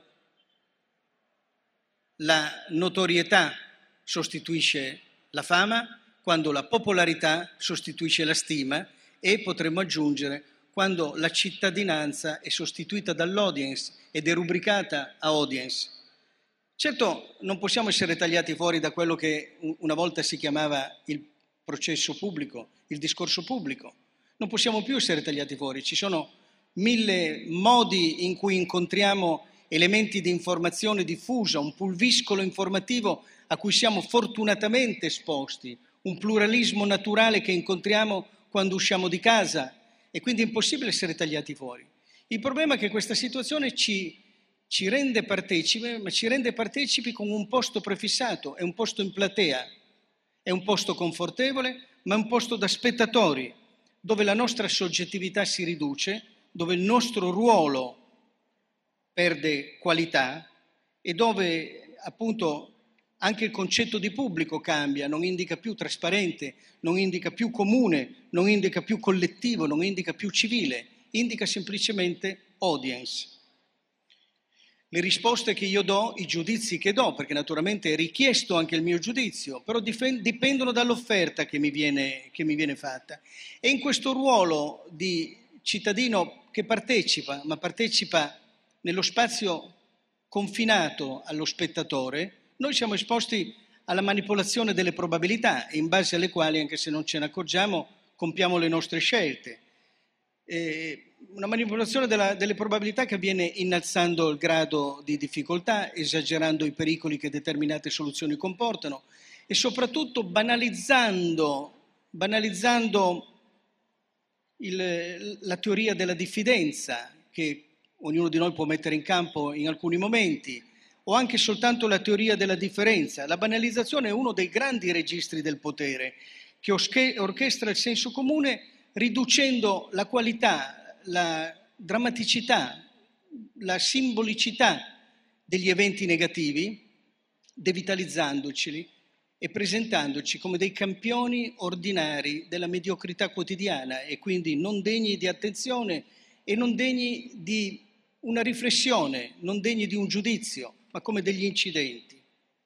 la notorietà sostituisce la fama, quando la popolarità sostituisce la stima e, potremmo aggiungere, quando la cittadinanza è sostituita dall'audience ed è rubricata a audience. Certo, non possiamo essere tagliati fuori da quello che una volta si chiamava il processo pubblico, il discorso pubblico. Non possiamo più essere tagliati fuori, ci sono mille modi in cui incontriamo elementi di informazione diffusa, un pulviscolo informativo a cui siamo fortunatamente esposti, un pluralismo naturale che incontriamo quando usciamo di casa e quindi è impossibile essere tagliati fuori. Il problema è che questa situazione ci, ci rende partecipi, ma ci rende partecipi con un posto prefissato, è un posto in platea, è un posto confortevole, ma è un posto da spettatori, dove la nostra soggettività si riduce, dove il nostro ruolo perde qualità e dove appunto anche il concetto di pubblico cambia, non indica più trasparente, non indica più comune, non indica più collettivo, non indica più civile, indica semplicemente audience. Le risposte che io do, i giudizi che do, perché naturalmente è richiesto anche il mio giudizio, però dipendono dall'offerta che mi viene, che mi viene fatta. E in questo ruolo di cittadino che partecipa, ma partecipa nello spazio confinato allo spettatore, noi siamo esposti alla manipolazione delle probabilità, in base alle quali, anche se non ce ne accorgiamo, compiamo le nostre scelte. E una manipolazione della, delle probabilità che avviene innalzando il grado di difficoltà, esagerando i pericoli che determinate soluzioni comportano e soprattutto banalizzando, banalizzando il, la teoria della diffidenza che ognuno di noi può mettere in campo in alcuni momenti, o anche soltanto la teoria della differenza. La banalizzazione è uno dei grandi registri del potere che orchestra il senso comune riducendo la qualità, la drammaticità, la simbolicità degli eventi negativi, devitalizzandoceli e presentandoci come dei campioni ordinari della mediocrità quotidiana e quindi non degni di attenzione e non degni di una riflessione, non degni di un giudizio, ma come degli incidenti.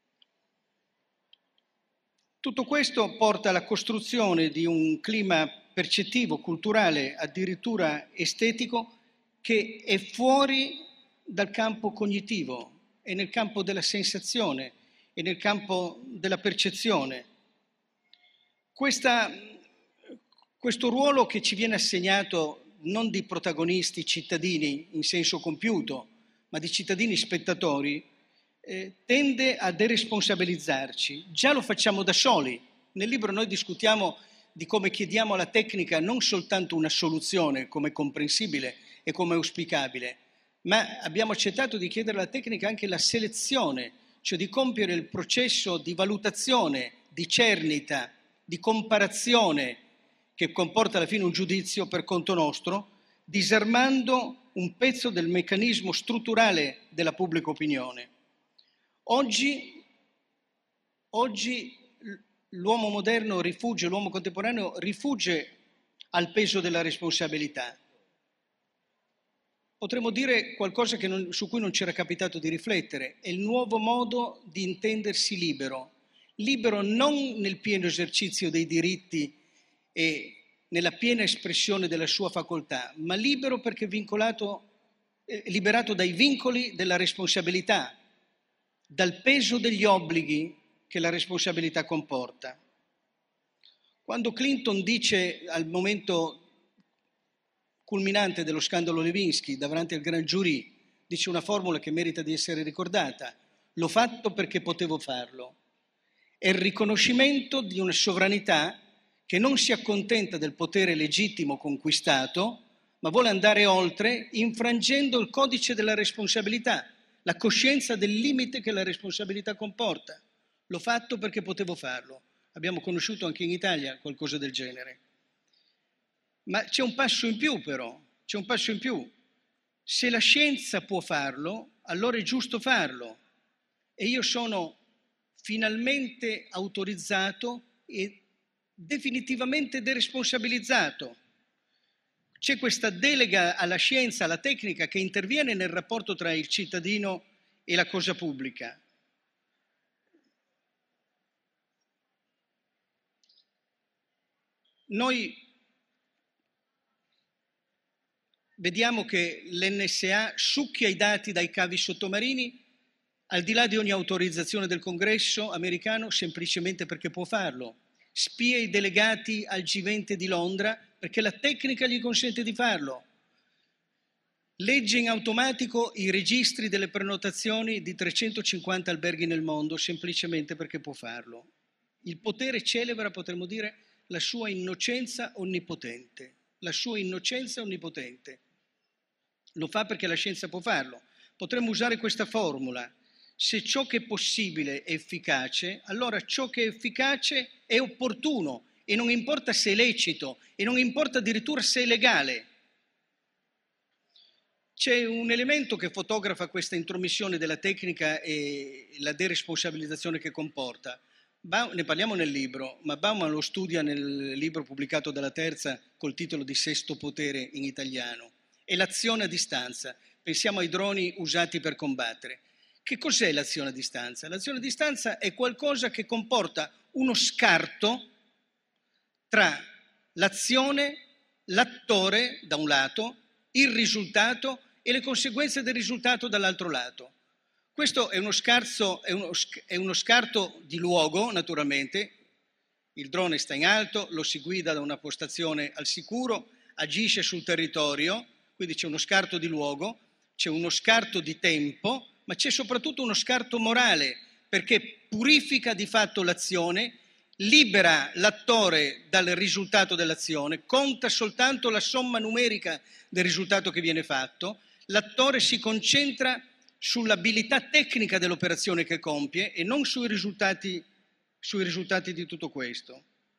Tutto questo porta alla costruzione di un clima percettivo, culturale, addirittura estetico, che è fuori dal campo cognitivo, è nel campo della sensazione, è nel campo della percezione. Questa, questo ruolo che ci viene assegnato non di protagonisti cittadini in senso compiuto, ma di cittadini spettatori, eh, tende a deresponsabilizzarci. Già lo facciamo da soli. Nel libro noi discutiamo di come chiediamo alla tecnica non soltanto una soluzione, come comprensibile e come auspicabile, ma abbiamo accettato di chiedere alla tecnica anche la selezione, cioè di compiere il processo di valutazione, di cernita, di comparazione che comporta alla fine un giudizio per conto nostro, disarmando un pezzo del meccanismo strutturale della pubblica opinione. Oggi, oggi l'uomo moderno rifugge, l'uomo contemporaneo rifugge al peso della responsabilità. Potremmo dire qualcosa che non, su cui non c'era capitato di riflettere, è il nuovo modo di intendersi libero, libero non nel pieno esercizio dei diritti e nella piena espressione della sua facoltà, ma libero perché vincolato, eh, liberato dai vincoli della responsabilità, dal peso degli obblighi che la responsabilità comporta. Quando Clinton dice al momento culminante dello scandalo Levinsky, davanti al Grand Jury, dice una formula che merita di essere ricordata: l'ho fatto perché potevo farlo. È il riconoscimento di una sovranità che non si accontenta del potere legittimo conquistato, ma vuole andare oltre, infrangendo il codice della responsabilità, la coscienza del limite che la responsabilità comporta. L'ho fatto perché potevo farlo. Abbiamo conosciuto anche in Italia qualcosa del genere. Ma c'è un passo in più però, c'è un passo in più. Se la scienza può farlo, allora è giusto farlo. E io sono finalmente autorizzato e definitivamente deresponsabilizzato. C'è questa delega alla scienza, alla tecnica che interviene nel rapporto tra il cittadino e la cosa pubblica. Noi vediamo che l'N S A succhia i dati dai cavi sottomarini al di là di ogni autorizzazione del Congresso americano semplicemente perché può farlo. Spia i delegati al G venti di Londra perché la tecnica gli consente di farlo. Legge in automatico i registri delle prenotazioni di trecentocinquanta alberghi nel mondo semplicemente perché può farlo. Il potere celebra, potremmo dire, la sua innocenza onnipotente. La sua innocenza onnipotente. Lo fa perché la scienza può farlo. Potremmo usare questa formula. Se ciò che è possibile è efficace, allora ciò che è efficace è opportuno e non importa se è lecito e non importa addirittura se è legale. C'è un elemento che fotografa questa intromissione della tecnica e la deresponsabilizzazione che comporta. Ne parliamo nel libro, ma Bauman lo studia nel libro pubblicato dalla Terza col titolo di Sesto Potere in italiano. È l'azione a distanza. Pensiamo ai droni usati per combattere. Che cos'è l'azione a distanza? L'azione a distanza è qualcosa che comporta uno scarto tra l'azione, l'attore da un lato, il risultato e le conseguenze del risultato dall'altro lato. Questo è uno, scarso, è, uno, è uno scarto di luogo, naturalmente. Il drone sta in alto, lo si guida da una postazione al sicuro, agisce sul territorio, quindi c'è uno scarto di luogo, c'è uno scarto di tempo, ma c'è soprattutto uno scarto morale, perché purifica di fatto l'azione, libera l'attore dal risultato dell'azione, conta soltanto la somma numerica del risultato che viene fatto, l'attore si concentra sull'abilità tecnica dell'operazione che compie e non sui risultati, sui risultati di tutto questo.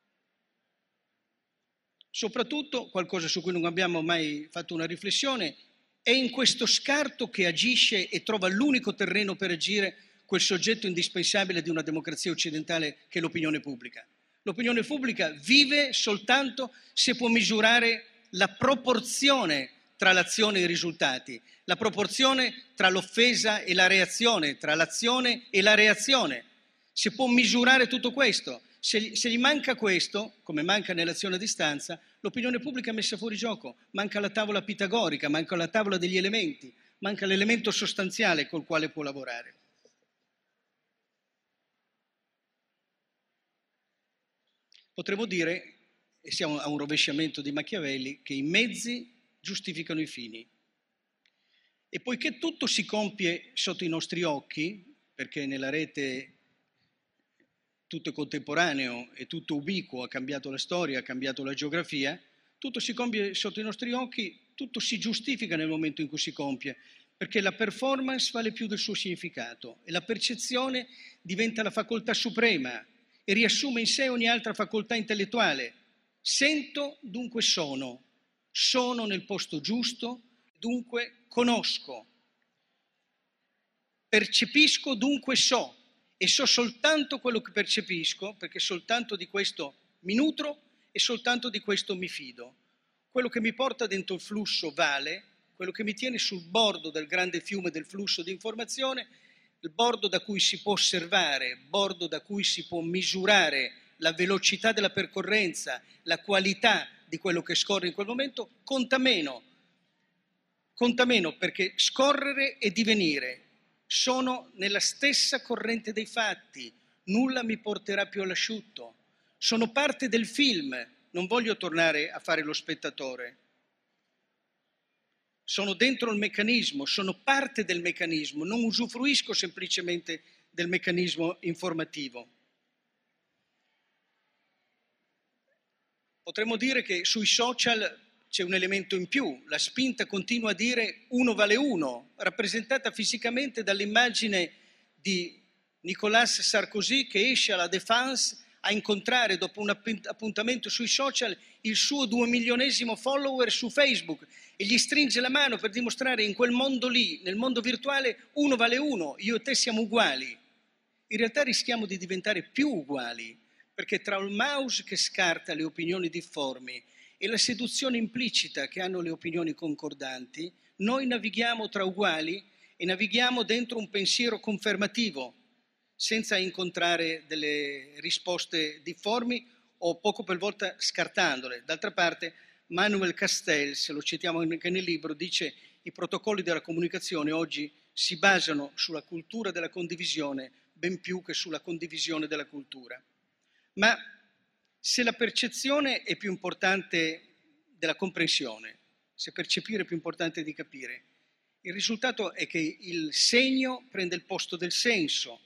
Soprattutto, qualcosa su cui non abbiamo mai fatto una riflessione, è in questo scarto che agisce e trova l'unico terreno per agire quel soggetto indispensabile di una democrazia occidentale che è l'opinione pubblica. L'opinione pubblica vive soltanto se può misurare la proporzione tra l'azione e i risultati, la proporzione tra l'offesa e la reazione, tra l'azione e la reazione. Se può misurare tutto questo, se, se gli manca questo, come manca nell'azione a distanza, l'opinione pubblica è messa fuori gioco, manca la tavola pitagorica, manca la tavola degli elementi, manca l'elemento sostanziale col quale può lavorare. Potremmo dire, e siamo a un rovesciamento di Machiavelli, che i mezzi giustificano i fini. E poiché tutto si compie sotto i nostri occhi, perché nella rete tutto è contemporaneo e tutto ubiquo, ha cambiato la storia, ha cambiato la geografia, tutto si compie sotto i nostri occhi, tutto si giustifica nel momento in cui si compie, perché la performance vale più del suo significato e la percezione diventa la facoltà suprema e riassume in sé ogni altra facoltà intellettuale. Sento, dunque sono, sono nel posto giusto, dunque conosco. Percepisco, dunque so. E so soltanto quello che percepisco, perché soltanto di questo mi nutro e soltanto di questo mi fido. Quello che mi porta dentro il flusso vale, quello che mi tiene sul bordo del grande fiume del flusso di informazione, il bordo da cui si può osservare, bordo da cui si può misurare la velocità della percorrenza, la qualità di quello che scorre in quel momento, conta meno. Conta meno perché scorrere e divenire sono nella stessa corrente dei fatti, nulla mi porterà più all'asciutto. Sono parte del film, non voglio tornare a fare lo spettatore. Sono dentro il meccanismo, sono parte del meccanismo, non usufruisco semplicemente del meccanismo informativo. Potremmo dire che sui social c'è un elemento in più, la spinta continua a dire uno vale uno, rappresentata fisicamente dall'immagine di Nicolas Sarkozy che esce alla Défense a incontrare dopo un appuntamento sui social il suo due milionesimo follower su Facebook e gli stringe la mano per dimostrare in quel mondo lì, nel mondo virtuale, uno vale uno, io e te siamo uguali. In realtà rischiamo di diventare più uguali, perché tra il mouse che scarta le opinioni difformi e la seduzione implicita che hanno le opinioni concordanti, noi navighiamo tra uguali e navighiamo dentro un pensiero confermativo, senza incontrare delle risposte difformi o poco per volta scartandole. D'altra parte, Manuel Castells, lo citiamo anche nel libro, dice i protocolli della comunicazione oggi si basano sulla cultura della condivisione ben più che sulla condivisione della cultura. Ma se la percezione è più importante della comprensione, se percepire è più importante di capire, il risultato è che il segno prende il posto del senso.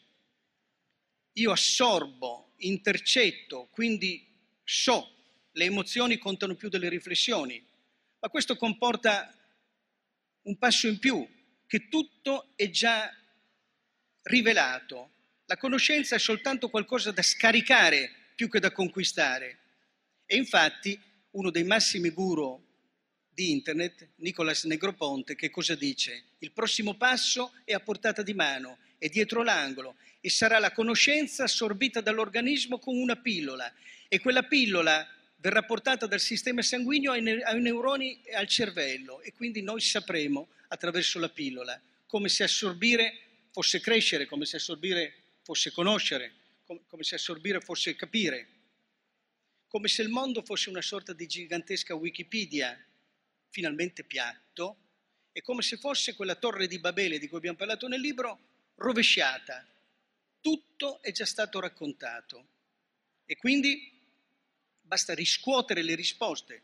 Io assorbo, intercetto, quindi so, le emozioni contano più delle riflessioni, ma questo comporta un passo in più, che tutto è già rivelato. La conoscenza è soltanto qualcosa da scaricare più che da conquistare. E infatti uno dei massimi guru di internet, Nicolas Negroponte, che cosa dice? Il prossimo passo è a portata di mano, è dietro l'angolo e sarà la conoscenza assorbita dall'organismo con una pillola e quella pillola verrà portata dal sistema sanguigno ai, ne- ai neuroni e al cervello e quindi noi sapremo attraverso la pillola come se assorbire fosse crescere, come se assorbire fosse conoscere, com- come se assorbire fosse capire, come se il mondo fosse una sorta di gigantesca Wikipedia finalmente piatto e come se fosse quella torre di Babele di cui abbiamo parlato nel libro rovesciata. Tutto è già stato raccontato e quindi basta riscuotere le risposte,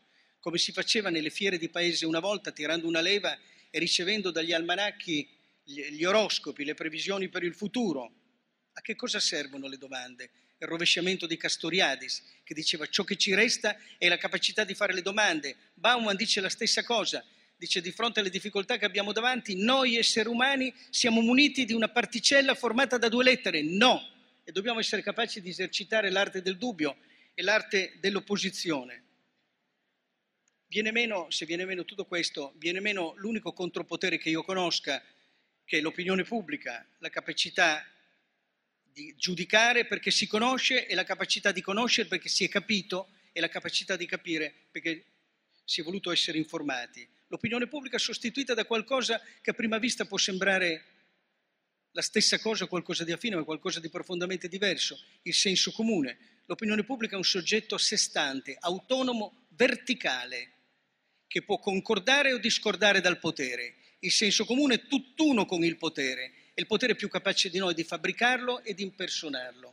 come si faceva nelle fiere di paese una volta, tirando una leva e ricevendo dagli almanacchi gli, gli oroscopi, le previsioni per il futuro. A che cosa servono le domande? Il rovesciamento di Castoriadis, che diceva ciò che ci resta è la capacità di fare le domande. Bauman dice la stessa cosa, dice di fronte alle difficoltà che abbiamo davanti, noi esseri umani siamo muniti di una particella formata da due lettere, no, e dobbiamo essere capaci di esercitare l'arte del dubbio e l'arte dell'opposizione. Viene meno, se viene meno tutto questo, viene meno l'unico contropotere che io conosca, che è l'opinione pubblica, la capacità di giudicare perché si conosce e la capacità di conoscere perché si è capito e la capacità di capire perché si è voluto essere informati. L'opinione pubblica è sostituita da qualcosa che a prima vista può sembrare la stessa cosa, qualcosa di affine, ma qualcosa di profondamente diverso, il senso comune. L'opinione pubblica è un soggetto a sé stante, autonomo, verticale, che può concordare o discordare dal potere. Il senso comune è tutt'uno con il potere, è il potere più capace di noi di fabbricarlo e di impersonarlo.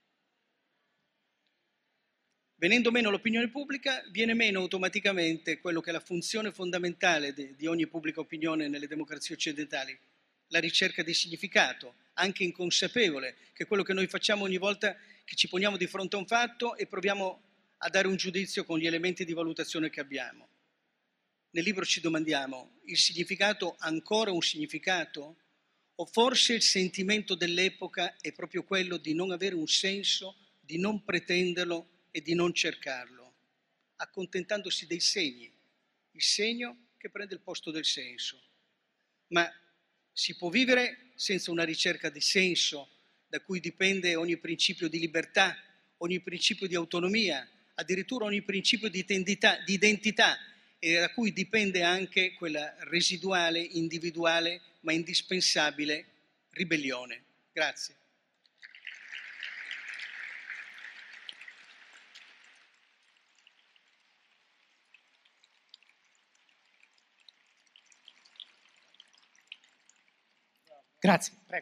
Venendo meno l'opinione pubblica, viene meno automaticamente quello che è la funzione fondamentale di, di ogni pubblica opinione nelle democrazie occidentali, la ricerca di significato, anche inconsapevole, che è quello che noi facciamo ogni volta che ci poniamo di fronte a un fatto e proviamo a dare un giudizio con gli elementi di valutazione che abbiamo. Nel libro ci domandiamo, il significato ha ancora un significato? O forse il sentimento dell'epoca è proprio quello di non avere un senso, di non pretenderlo e di non cercarlo, accontentandosi dei segni, il segno che prende il posto del senso. Ma si può vivere senza una ricerca di senso, da cui dipende ogni principio di libertà, ogni principio di autonomia, addirittura ogni principio di identità, di identità e da cui dipende anche quella residuale, individuale, ma indispensabile ribellione. Grazie. Grazie, prego.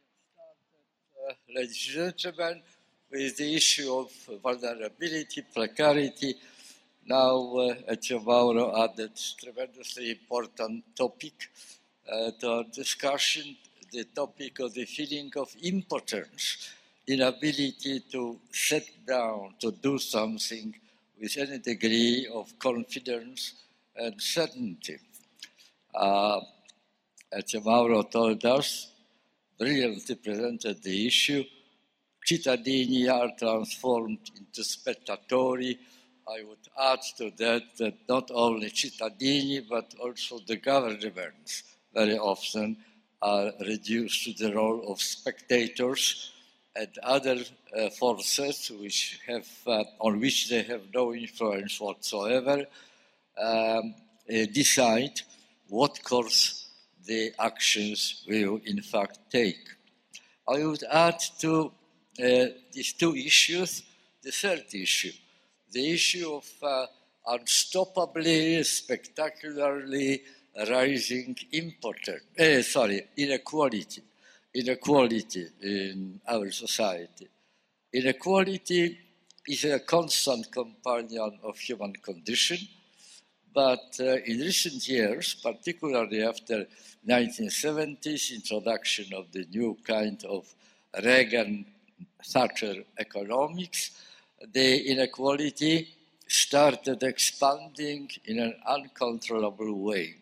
Uh, ladies and gentlemen, with the issue of vulnerability, precarity, now uh, Ezio Mauro added tremendously important topic uh, to our discussion, the topic of the feeling of impotence, inability to sit down, to do something with any degree of confidence and certainty. Uh, Ezio Mauro told us, brilliantly presented the issue, cittadini are transformed into spettatori. I would add to that that not only cittadini, but also the governments very often are reduced to the role of spectators and other uh, forces which have, uh, on which they have no influence whatsoever, um, uh, decide what course the actions will in fact take. I would add to uh, these two issues the third issue, the issue of uh, unstoppably, spectacularly rising impotence, uh, sorry, inequality, inequality in our society. Inequality is a constant companion of human condition, but uh, in recent years, particularly after nineteen seventies introduction of the new kind of Reagan-Thatcher economics, the inequality started expanding in an uncontrollable way.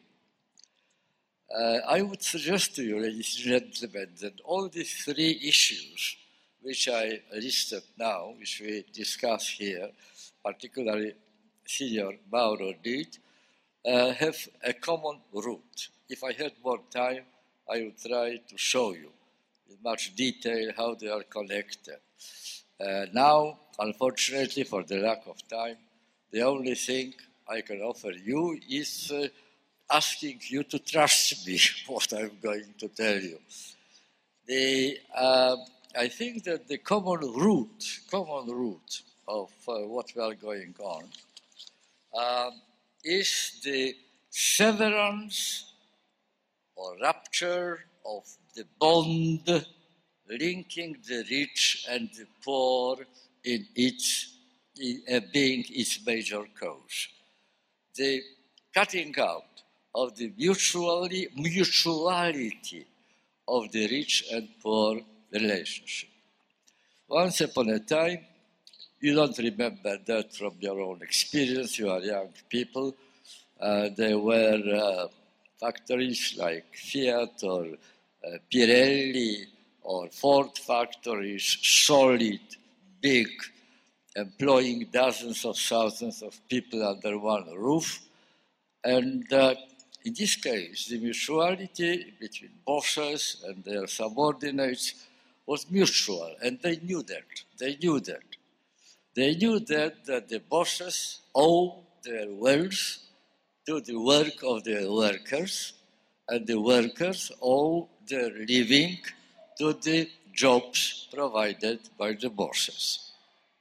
Uh, I would suggest to you, ladies and gentlemen, that all these three issues, which I listed now, which we discuss here, particularly Signor Mauro did, uh, have a common root. If I had more time, I would try to show you in much detail how they are connected. Uh, now, unfortunately, for the lack of time, the only thing I can offer you is uh, asking you to trust me what I'm going to tell you. The, uh, I think that the common root, common root of uh, what we are going on uh, is the severance or rupture of the bond linking the rich and the poor in its in, uh, being its major cause. the cutting out of the mutually, mutuality of the rich and poor relationship. Once upon a time, you don't remember that from your own experience, you are young people, uh, there were uh, factories like Fiat or uh, Pirelli or Ford factories, solid, big, employing dozens of thousands of people under one roof. And uh, in this case, the mutuality between bosses and their subordinates was mutual, and they knew that. They knew that. They knew that, that the bosses owe their wealth to the work of their workers, and the workers owe their living to the jobs provided by the bosses.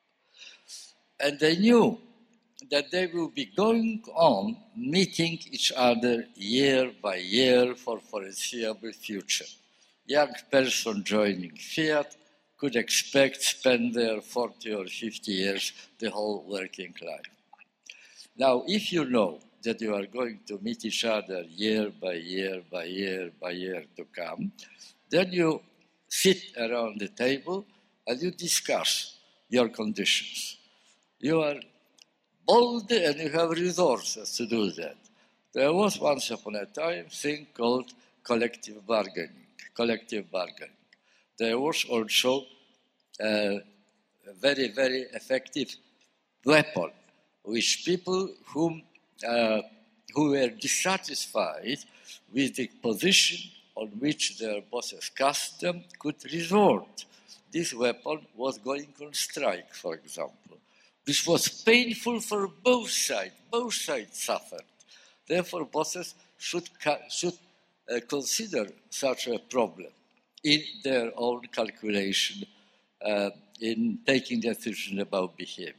And they knew that they will be going on meeting each other year by year for foreseeable future. Young person joining Fiat could expect spend there forty or fifty years, the whole working life. Now, if you know that you are going to meet each other year by year by year by year to come, then you sit around the table and you discuss your conditions. You are bold and you have resources to do that. There was once upon a time a thing called collective bargaining. Collective bargaining. There was also a very, very effective weapon which people whom, uh, who were dissatisfied with the position on which their bosses cast them could resort. This weapon was going on strike, for example. This was painful for both sides. Both sides suffered. Therefore, bosses should, should uh, consider such a problem in their own calculation, uh, in taking decisions about behavior.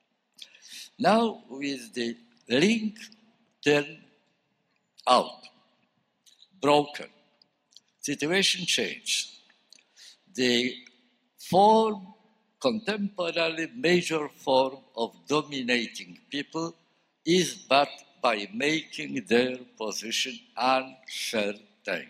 Now, with the link turned out, broken, situation changed. The form, contemporary major form of dominating people is but by making their position uncertain.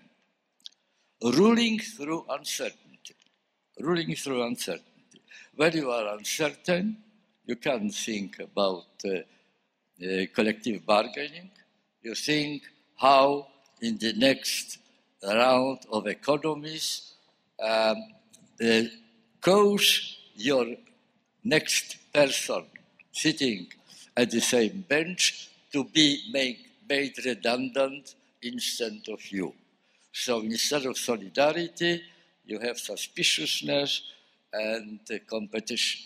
Ruling through uncertainty. Ruling through uncertainty. When you are uncertain, you can think about uh, uh, collective bargaining. You think how in the next round of economies, um, the cause your next person sitting at the same bench to be make, made redundant instead of you. So instead of solidarity, you have suspiciousness and uh, competition.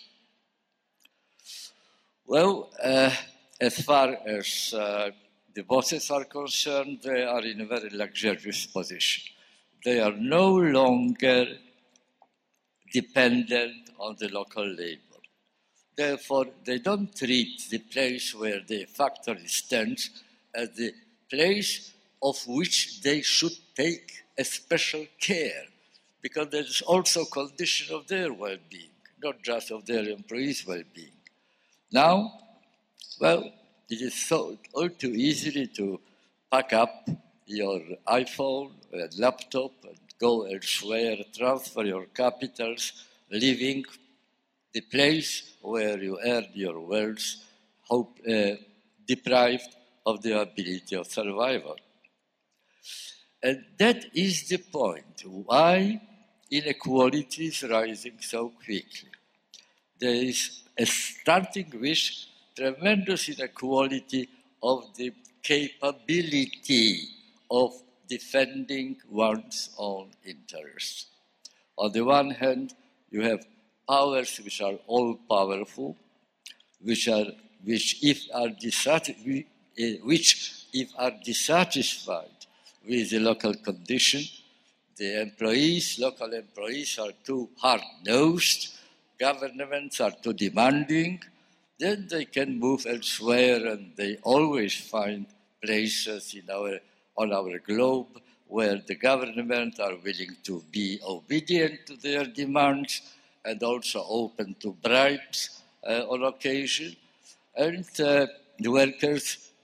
Well, uh, as far as uh, the bosses are concerned, they are in a very luxurious position. They are no longer dependent on the local labor. Therefore, they don't treat the place where the factory stands as the place of which they should take a special care, because there is also condition of their well-being, not just of their employees' well-being. Now, well, it is so all too easy to pack up your iPhone and laptop and go elsewhere, transfer your capitals, leaving the place where you earned your wealth, hope, uh, deprived of the ability of survival. And that is the point why inequality is rising so quickly. There is a starting with tremendous inequality of the capability of defending one's own interests. On the one hand, you have powers which are all-powerful, which are which if are dissatisfied, which if are dissatisfied with the local condition, the employees, local employees are too hard-nosed, governments are too demanding, then they can move elsewhere, and they always find places in our on our globe where the government are willing to be obedient to their demands and also open to bribes uh, on occasion. And uh, the workers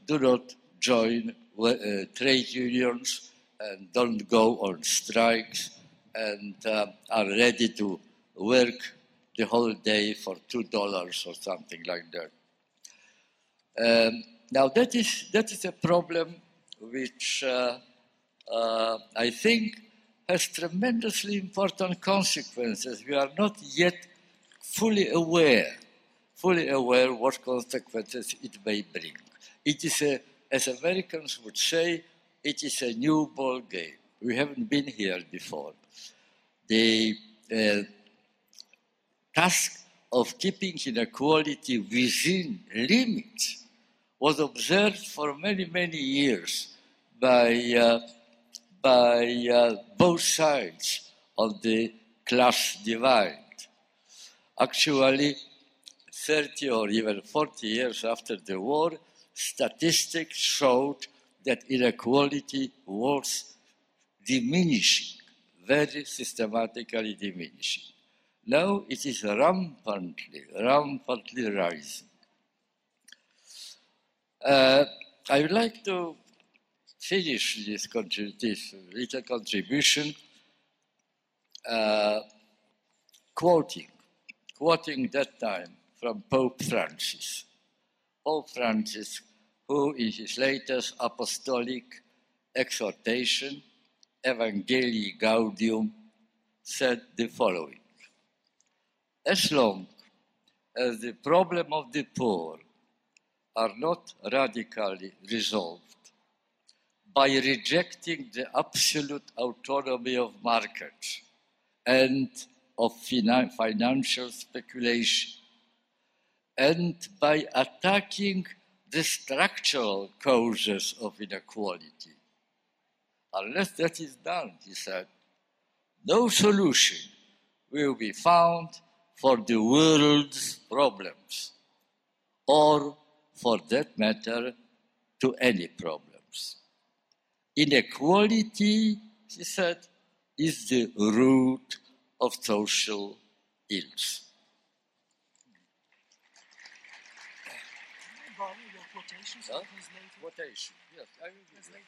do not join uh, trade unions and don't go on strikes and uh, are ready to work the whole day for two dollars or something like that. Um, now that is, that is a problem which uh, uh, I think has tremendously important consequences. We are not yet fully aware, fully aware what consequences it may bring. It is a, as Americans would say, it is a new ball game. We haven't been here before. The uh, task of keeping inequality within limits was observed for many, many years by, uh, by uh, both sides of the class divide. Actually, thirty or even forty years after the war, statistics showed that inequality was diminishing, very systematically diminishing. Now it is rampantly, rampantly rising. Uh, I would like to finish this, this little contribution uh, quoting, quoting that time from Pope Francis. Pope Francis, who in his latest apostolic exhortation, Evangelii Gaudium, said the following: as long as the problem of the poor are not radically resolved by rejecting the absolute autonomy of markets and of finan- financial speculation, and by attacking the structural causes of inequality. Unless that is done, he said, no solution will be found for the world's problems, or, for that matter, to any problems. Inequality, he said, is the root of social ills. Huh? Quotation. Yes, I will do that.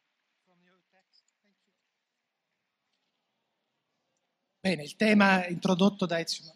Bene, il tema introdotto da Ezio,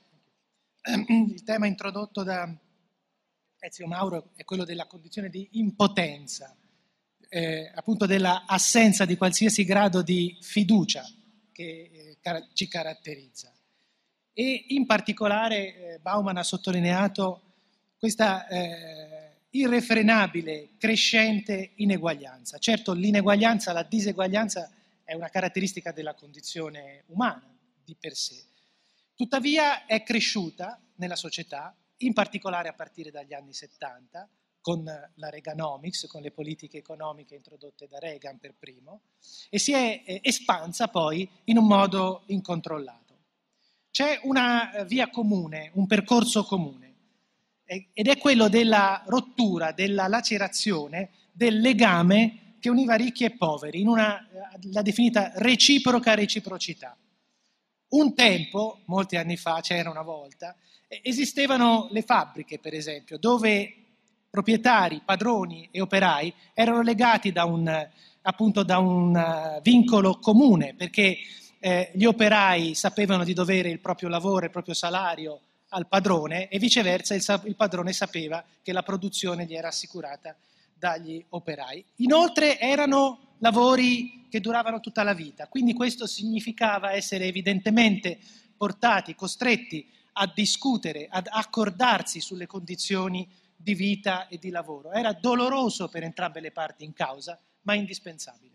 il tema introdotto da Ezio Mauro è quello della condizione di impotenza, eh, appunto della assenza di qualsiasi grado di fiducia che eh, ci caratterizza. E in particolare eh, Bauman ha sottolineato questa eh, irrefrenabile, crescente ineguaglianza. Certo, l'ineguaglianza, la diseguaglianza è una caratteristica della condizione umana di per sé. Tuttavia è cresciuta nella società, in particolare a partire dagli anni settanta, con la Reaganomics, con le politiche economiche introdotte da Reagan per primo, e si è eh, espansa poi in un modo incontrollato. C'è una via comune, un percorso comune, ed è quello della rottura, della lacerazione, del legame che univa ricchi e poveri, in una, la definita reciproca reciprocità. Un tempo, molti anni fa, c'era una volta, esistevano le fabbriche, per esempio, dove proprietari, padroni e operai erano legati da un, appunto, da un vincolo comune, perché eh, gli operai sapevano di dovere il proprio lavoro, il proprio salario al padrone, e viceversa il, il padrone sapeva che la produzione gli era assicurata dagli operai. Inoltre erano lavori che duravano tutta la vita, quindi questo significava essere evidentemente portati, costretti a discutere, ad accordarsi sulle condizioni di vita e di lavoro. Era doloroso per entrambe le parti in causa, ma indispensabile.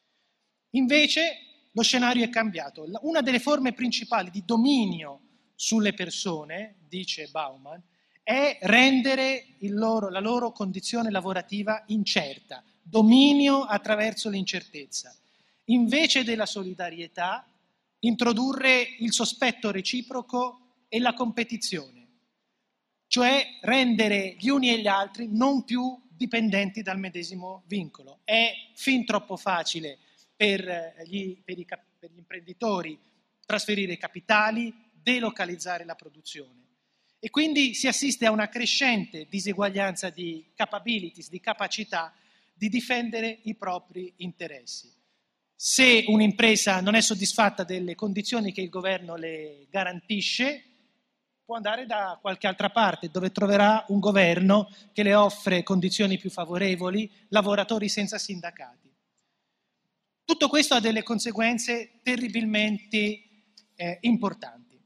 Invece lo scenario è cambiato. Una delle forme principali di dominio sulle persone, dice Bauman, è rendere il loro, la loro condizione lavorativa incerta, dominio attraverso l'incertezza. Invece della solidarietà, introdurre il sospetto reciproco e la competizione, cioè rendere gli uni e gli altri non più dipendenti dal medesimo vincolo. È fin troppo facile per gli, per i, per gli imprenditori trasferire i capitali, delocalizzare la produzione. E quindi si assiste a una crescente diseguaglianza di capabilities, di capacità di difendere i propri interessi. Se un'impresa non è soddisfatta delle condizioni che il governo le garantisce, può andare da qualche altra parte, dove troverà un governo che le offre condizioni più favorevoli, lavoratori senza sindacati. Tutto questo ha delle conseguenze terribilmente eh, importanti.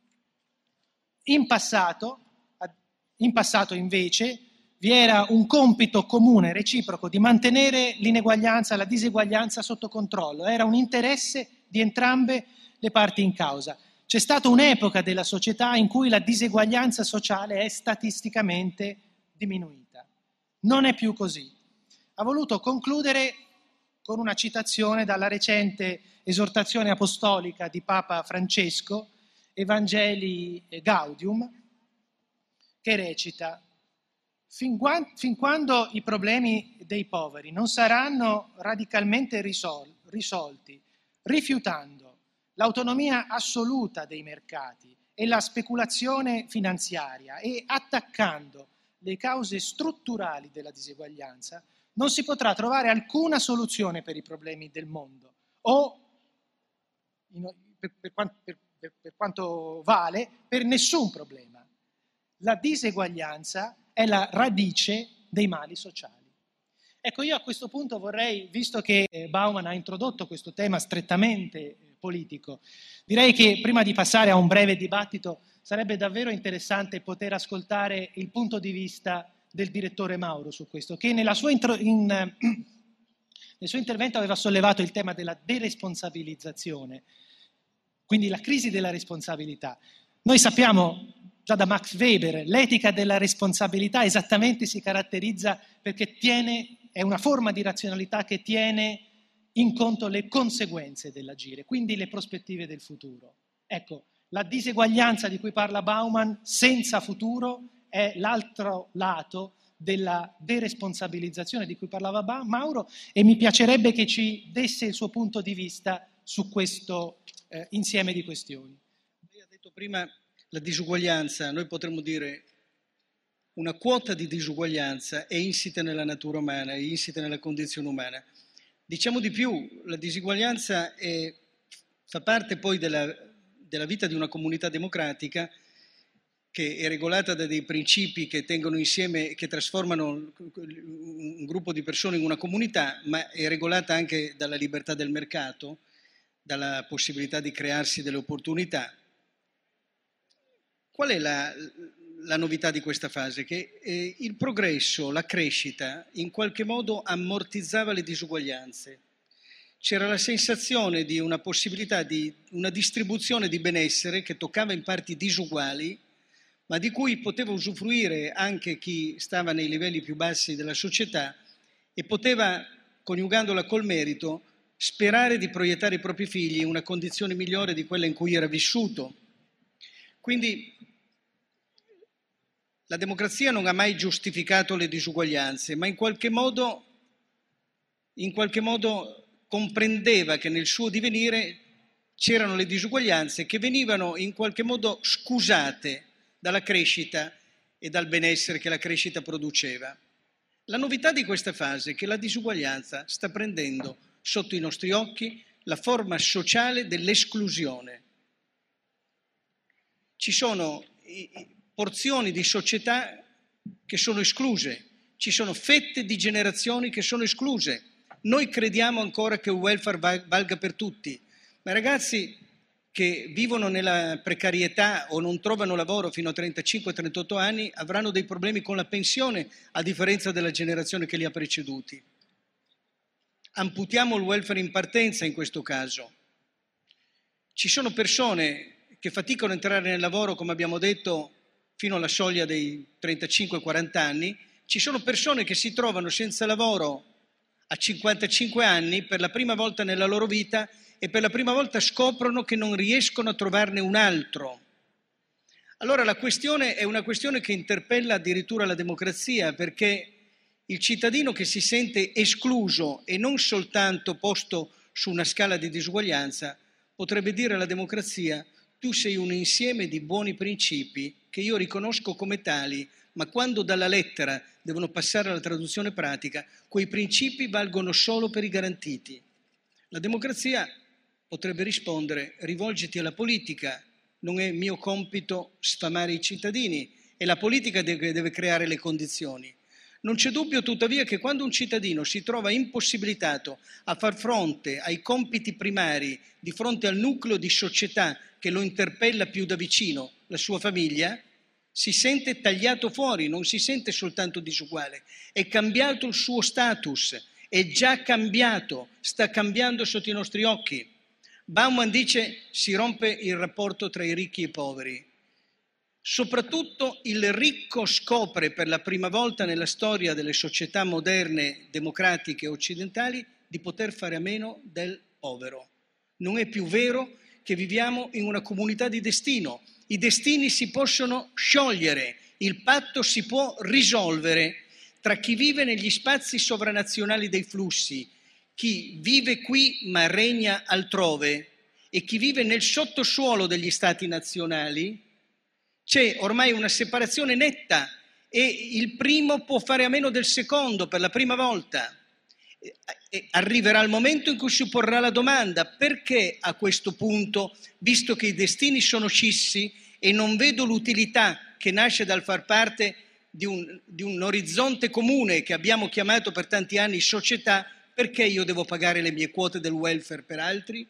In passato, in passato invece vi era un compito comune, reciproco, di mantenere l'ineguaglianza, la diseguaglianza sotto controllo. Era un interesse di entrambe le parti in causa. C'è stata un'epoca della società in cui la diseguaglianza sociale è statisticamente diminuita. Non è più così. Ha voluto concludere con una citazione dalla recente esortazione apostolica di Papa Francesco, Evangelii Gaudium, che recita: fin, guan- fin quando i problemi dei poveri non saranno radicalmente risol- risolti, rifiutando l'autonomia assoluta dei mercati e la speculazione finanziaria e attaccando le cause strutturali della diseguaglianza, non si potrà trovare alcuna soluzione per i problemi del mondo o, per, per, per, per, per quanto vale, per nessun problema. La diseguaglianza è la radice dei mali sociali. Ecco, io a questo punto vorrei, visto che Bauman ha introdotto questo tema strettamente politico, direi che prima di passare a un breve dibattito sarebbe davvero interessante poter ascoltare il punto di vista del direttore Mauro su questo, che nella sua intro, in, nel suo intervento aveva sollevato il tema della deresponsabilizzazione, quindi la crisi della responsabilità. Noi sappiamo già da Max Weber, l'etica della responsabilità esattamente si caratterizza perché tiene, è una forma di razionalità che tiene in conto le conseguenze dell'agire, quindi le prospettive del futuro. Ecco, la diseguaglianza di cui parla Bauman senza futuro è l'altro lato della deresponsabilizzazione di cui parlava ba- Mauro, e mi piacerebbe che ci desse il suo punto di vista su questo eh, insieme di questioni. Lei ha detto prima la disuguaglianza, noi potremmo dire una quota di disuguaglianza è insita nella natura umana, è insita nella condizione umana. Diciamo di più, la disuguaglianza è, fa parte poi della, della vita di una comunità democratica che è regolata da dei principi che tengono insieme, che trasformano un gruppo di persone in una comunità, ma è regolata anche dalla libertà del mercato, dalla possibilità di crearsi delle opportunità. Qual è la, la novità di questa fase? Che eh, il progresso, la crescita, in qualche modo ammortizzava le disuguaglianze. C'era la sensazione di una possibilità di una distribuzione di benessere che toccava in parti disuguali, ma di cui poteva usufruire anche chi stava nei livelli più bassi della società e poteva, coniugandola col merito, sperare di proiettare i propri figli in una condizione migliore di quella in cui era vissuto. Quindi la democrazia non ha mai giustificato le disuguaglianze, ma in qualche modo, in qualche modo comprendeva che nel suo divenire c'erano le disuguaglianze che venivano in qualche modo scusate dalla crescita e dal benessere che la crescita produceva. La novità di questa fase è che la disuguaglianza sta prendendo sotto i nostri occhi la forma sociale dell'esclusione. Ci sono porzioni di società che sono escluse, ci sono fette di generazioni che sono escluse. Noi crediamo ancora che il welfare valga per tutti, ma ragazzi che vivono nella precarietà o non trovano lavoro fino a trentacinque trentotto anni avranno dei problemi con la pensione, a differenza della generazione che li ha preceduti. Amputiamo il welfare in partenza in questo caso. Ci sono persone che faticano a entrare nel lavoro, come abbiamo detto, fino alla soglia dei trentacinque quaranta anni. Ci sono persone che si trovano senza lavoro a cinquantacinque anni per la prima volta nella loro vita e per la prima volta scoprono che non riescono a trovarne un altro. Allora la questione è una questione che interpella addirittura la democrazia, perché il cittadino che si sente escluso e non soltanto posto su una scala di disuguaglianza potrebbe dire alla democrazia: tu sei un insieme di buoni principi che io riconosco come tali, ma quando dalla lettera devono passare alla traduzione pratica, quei principi valgono solo per i garantiti. La democrazia potrebbe rispondere: rivolgiti alla politica, non è mio compito sfamare i cittadini, è la politica che deve creare le condizioni. Non c'è dubbio tuttavia che quando un cittadino si trova impossibilitato a far fronte ai compiti primari di fronte al nucleo di società che lo interpella più da vicino, la sua famiglia, si sente tagliato fuori, non si sente soltanto disuguale, è cambiato il suo status, è già cambiato, sta cambiando sotto i nostri occhi. Bauman dice: si rompe il rapporto tra i ricchi e i poveri. Soprattutto il ricco scopre per la prima volta nella storia delle società moderne, democratiche e occidentali, di poter fare a meno del povero. Non è più vero che viviamo in una comunità di destino. I destini si possono sciogliere, il patto si può risolvere tra chi vive negli spazi sovranazionali dei flussi, chi vive qui ma regna altrove, e chi vive nel sottosuolo degli stati nazionali. C'è ormai una separazione netta e il primo può fare a meno del secondo per la prima volta. E arriverà il momento in cui si porrà la domanda: perché a questo punto, visto che i destini sono scissi e non vedo l'utilità che nasce dal far parte di un, di un orizzonte comune che abbiamo chiamato per tanti anni società, perché io devo pagare le mie quote del welfare per altri?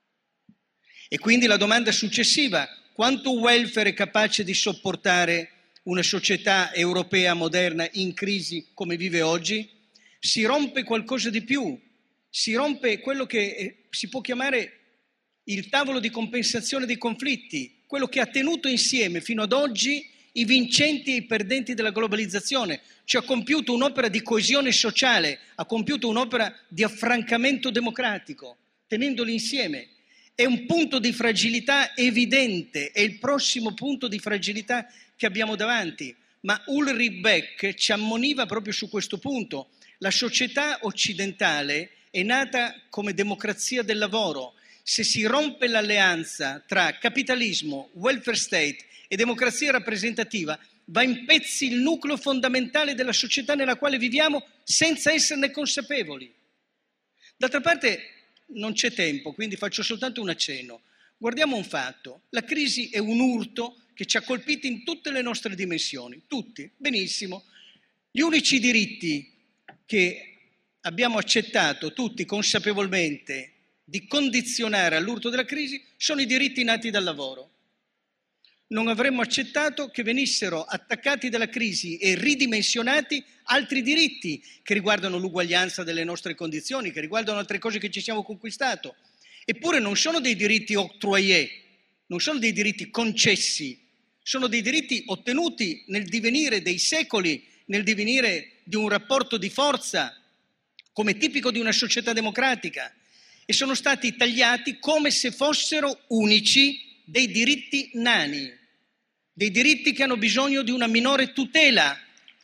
E quindi la domanda successiva: quanto welfare è capace di sopportare una società europea moderna in crisi come vive oggi? Si rompe qualcosa di più, si rompe quello che si può chiamare il tavolo di compensazione dei conflitti, quello che ha tenuto insieme fino ad oggi i vincenti e i perdenti della globalizzazione, cioè ha compiuto un'opera di coesione sociale, ha compiuto un'opera di affrancamento democratico, tenendoli insieme. È un punto di fragilità evidente, è il prossimo punto di fragilità che abbiamo davanti, ma Ulrich Beck ci ammoniva proprio su questo punto. La società occidentale è nata come democrazia del lavoro. Se si rompe l'alleanza tra capitalismo, welfare state e democrazia rappresentativa, va in pezzi il nucleo fondamentale della società nella quale viviamo senza esserne consapevoli. D'altra parte non c'è tempo, quindi faccio soltanto un accenno. Guardiamo un fatto: la crisi è un urto che ci ha colpiti in tutte le nostre dimensioni, tutti, benissimo. Gli unici diritti che abbiamo accettato tutti consapevolmente di condizionare all'urto della crisi sono i diritti nati dal lavoro. Non avremmo accettato che venissero attaccati dalla crisi e ridimensionati altri diritti che riguardano l'uguaglianza delle nostre condizioni, che riguardano altre cose che ci siamo conquistato. Eppure non sono dei diritti octroyés, non sono dei diritti concessi, sono dei diritti ottenuti nel divenire dei secoli, nel divenire di un rapporto di forza, come tipico di una società democratica, e sono stati tagliati come se fossero unici dei diritti nani, dei diritti che hanno bisogno di una minore tutela.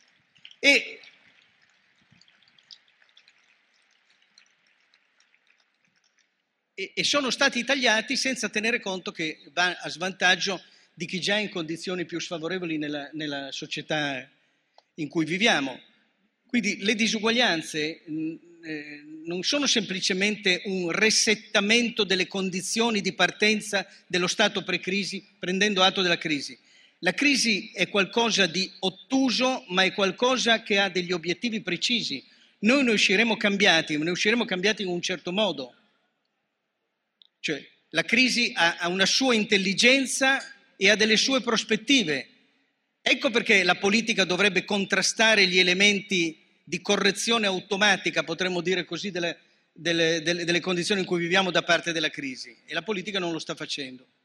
E, e, e sono stati tagliati senza tenere conto che va a svantaggio di chi già è in condizioni più sfavorevoli nella, nella società in cui viviamo. Quindi le disuguaglianze mh, eh, non sono semplicemente un resettamento delle condizioni di partenza dello stato pre-crisi, prendendo atto della crisi. La crisi è qualcosa di ottuso, ma è qualcosa che ha degli obiettivi precisi. Noi ne usciremo cambiati, ma ne usciremo cambiati in un certo modo. Cioè, la crisi ha, ha una sua intelligenza e ha delle sue prospettive. Ecco perché la politica dovrebbe contrastare gli elementi di correzione automatica, potremmo dire così, delle, delle, delle, delle condizioni in cui viviamo da parte della crisi. E la politica non lo sta facendo.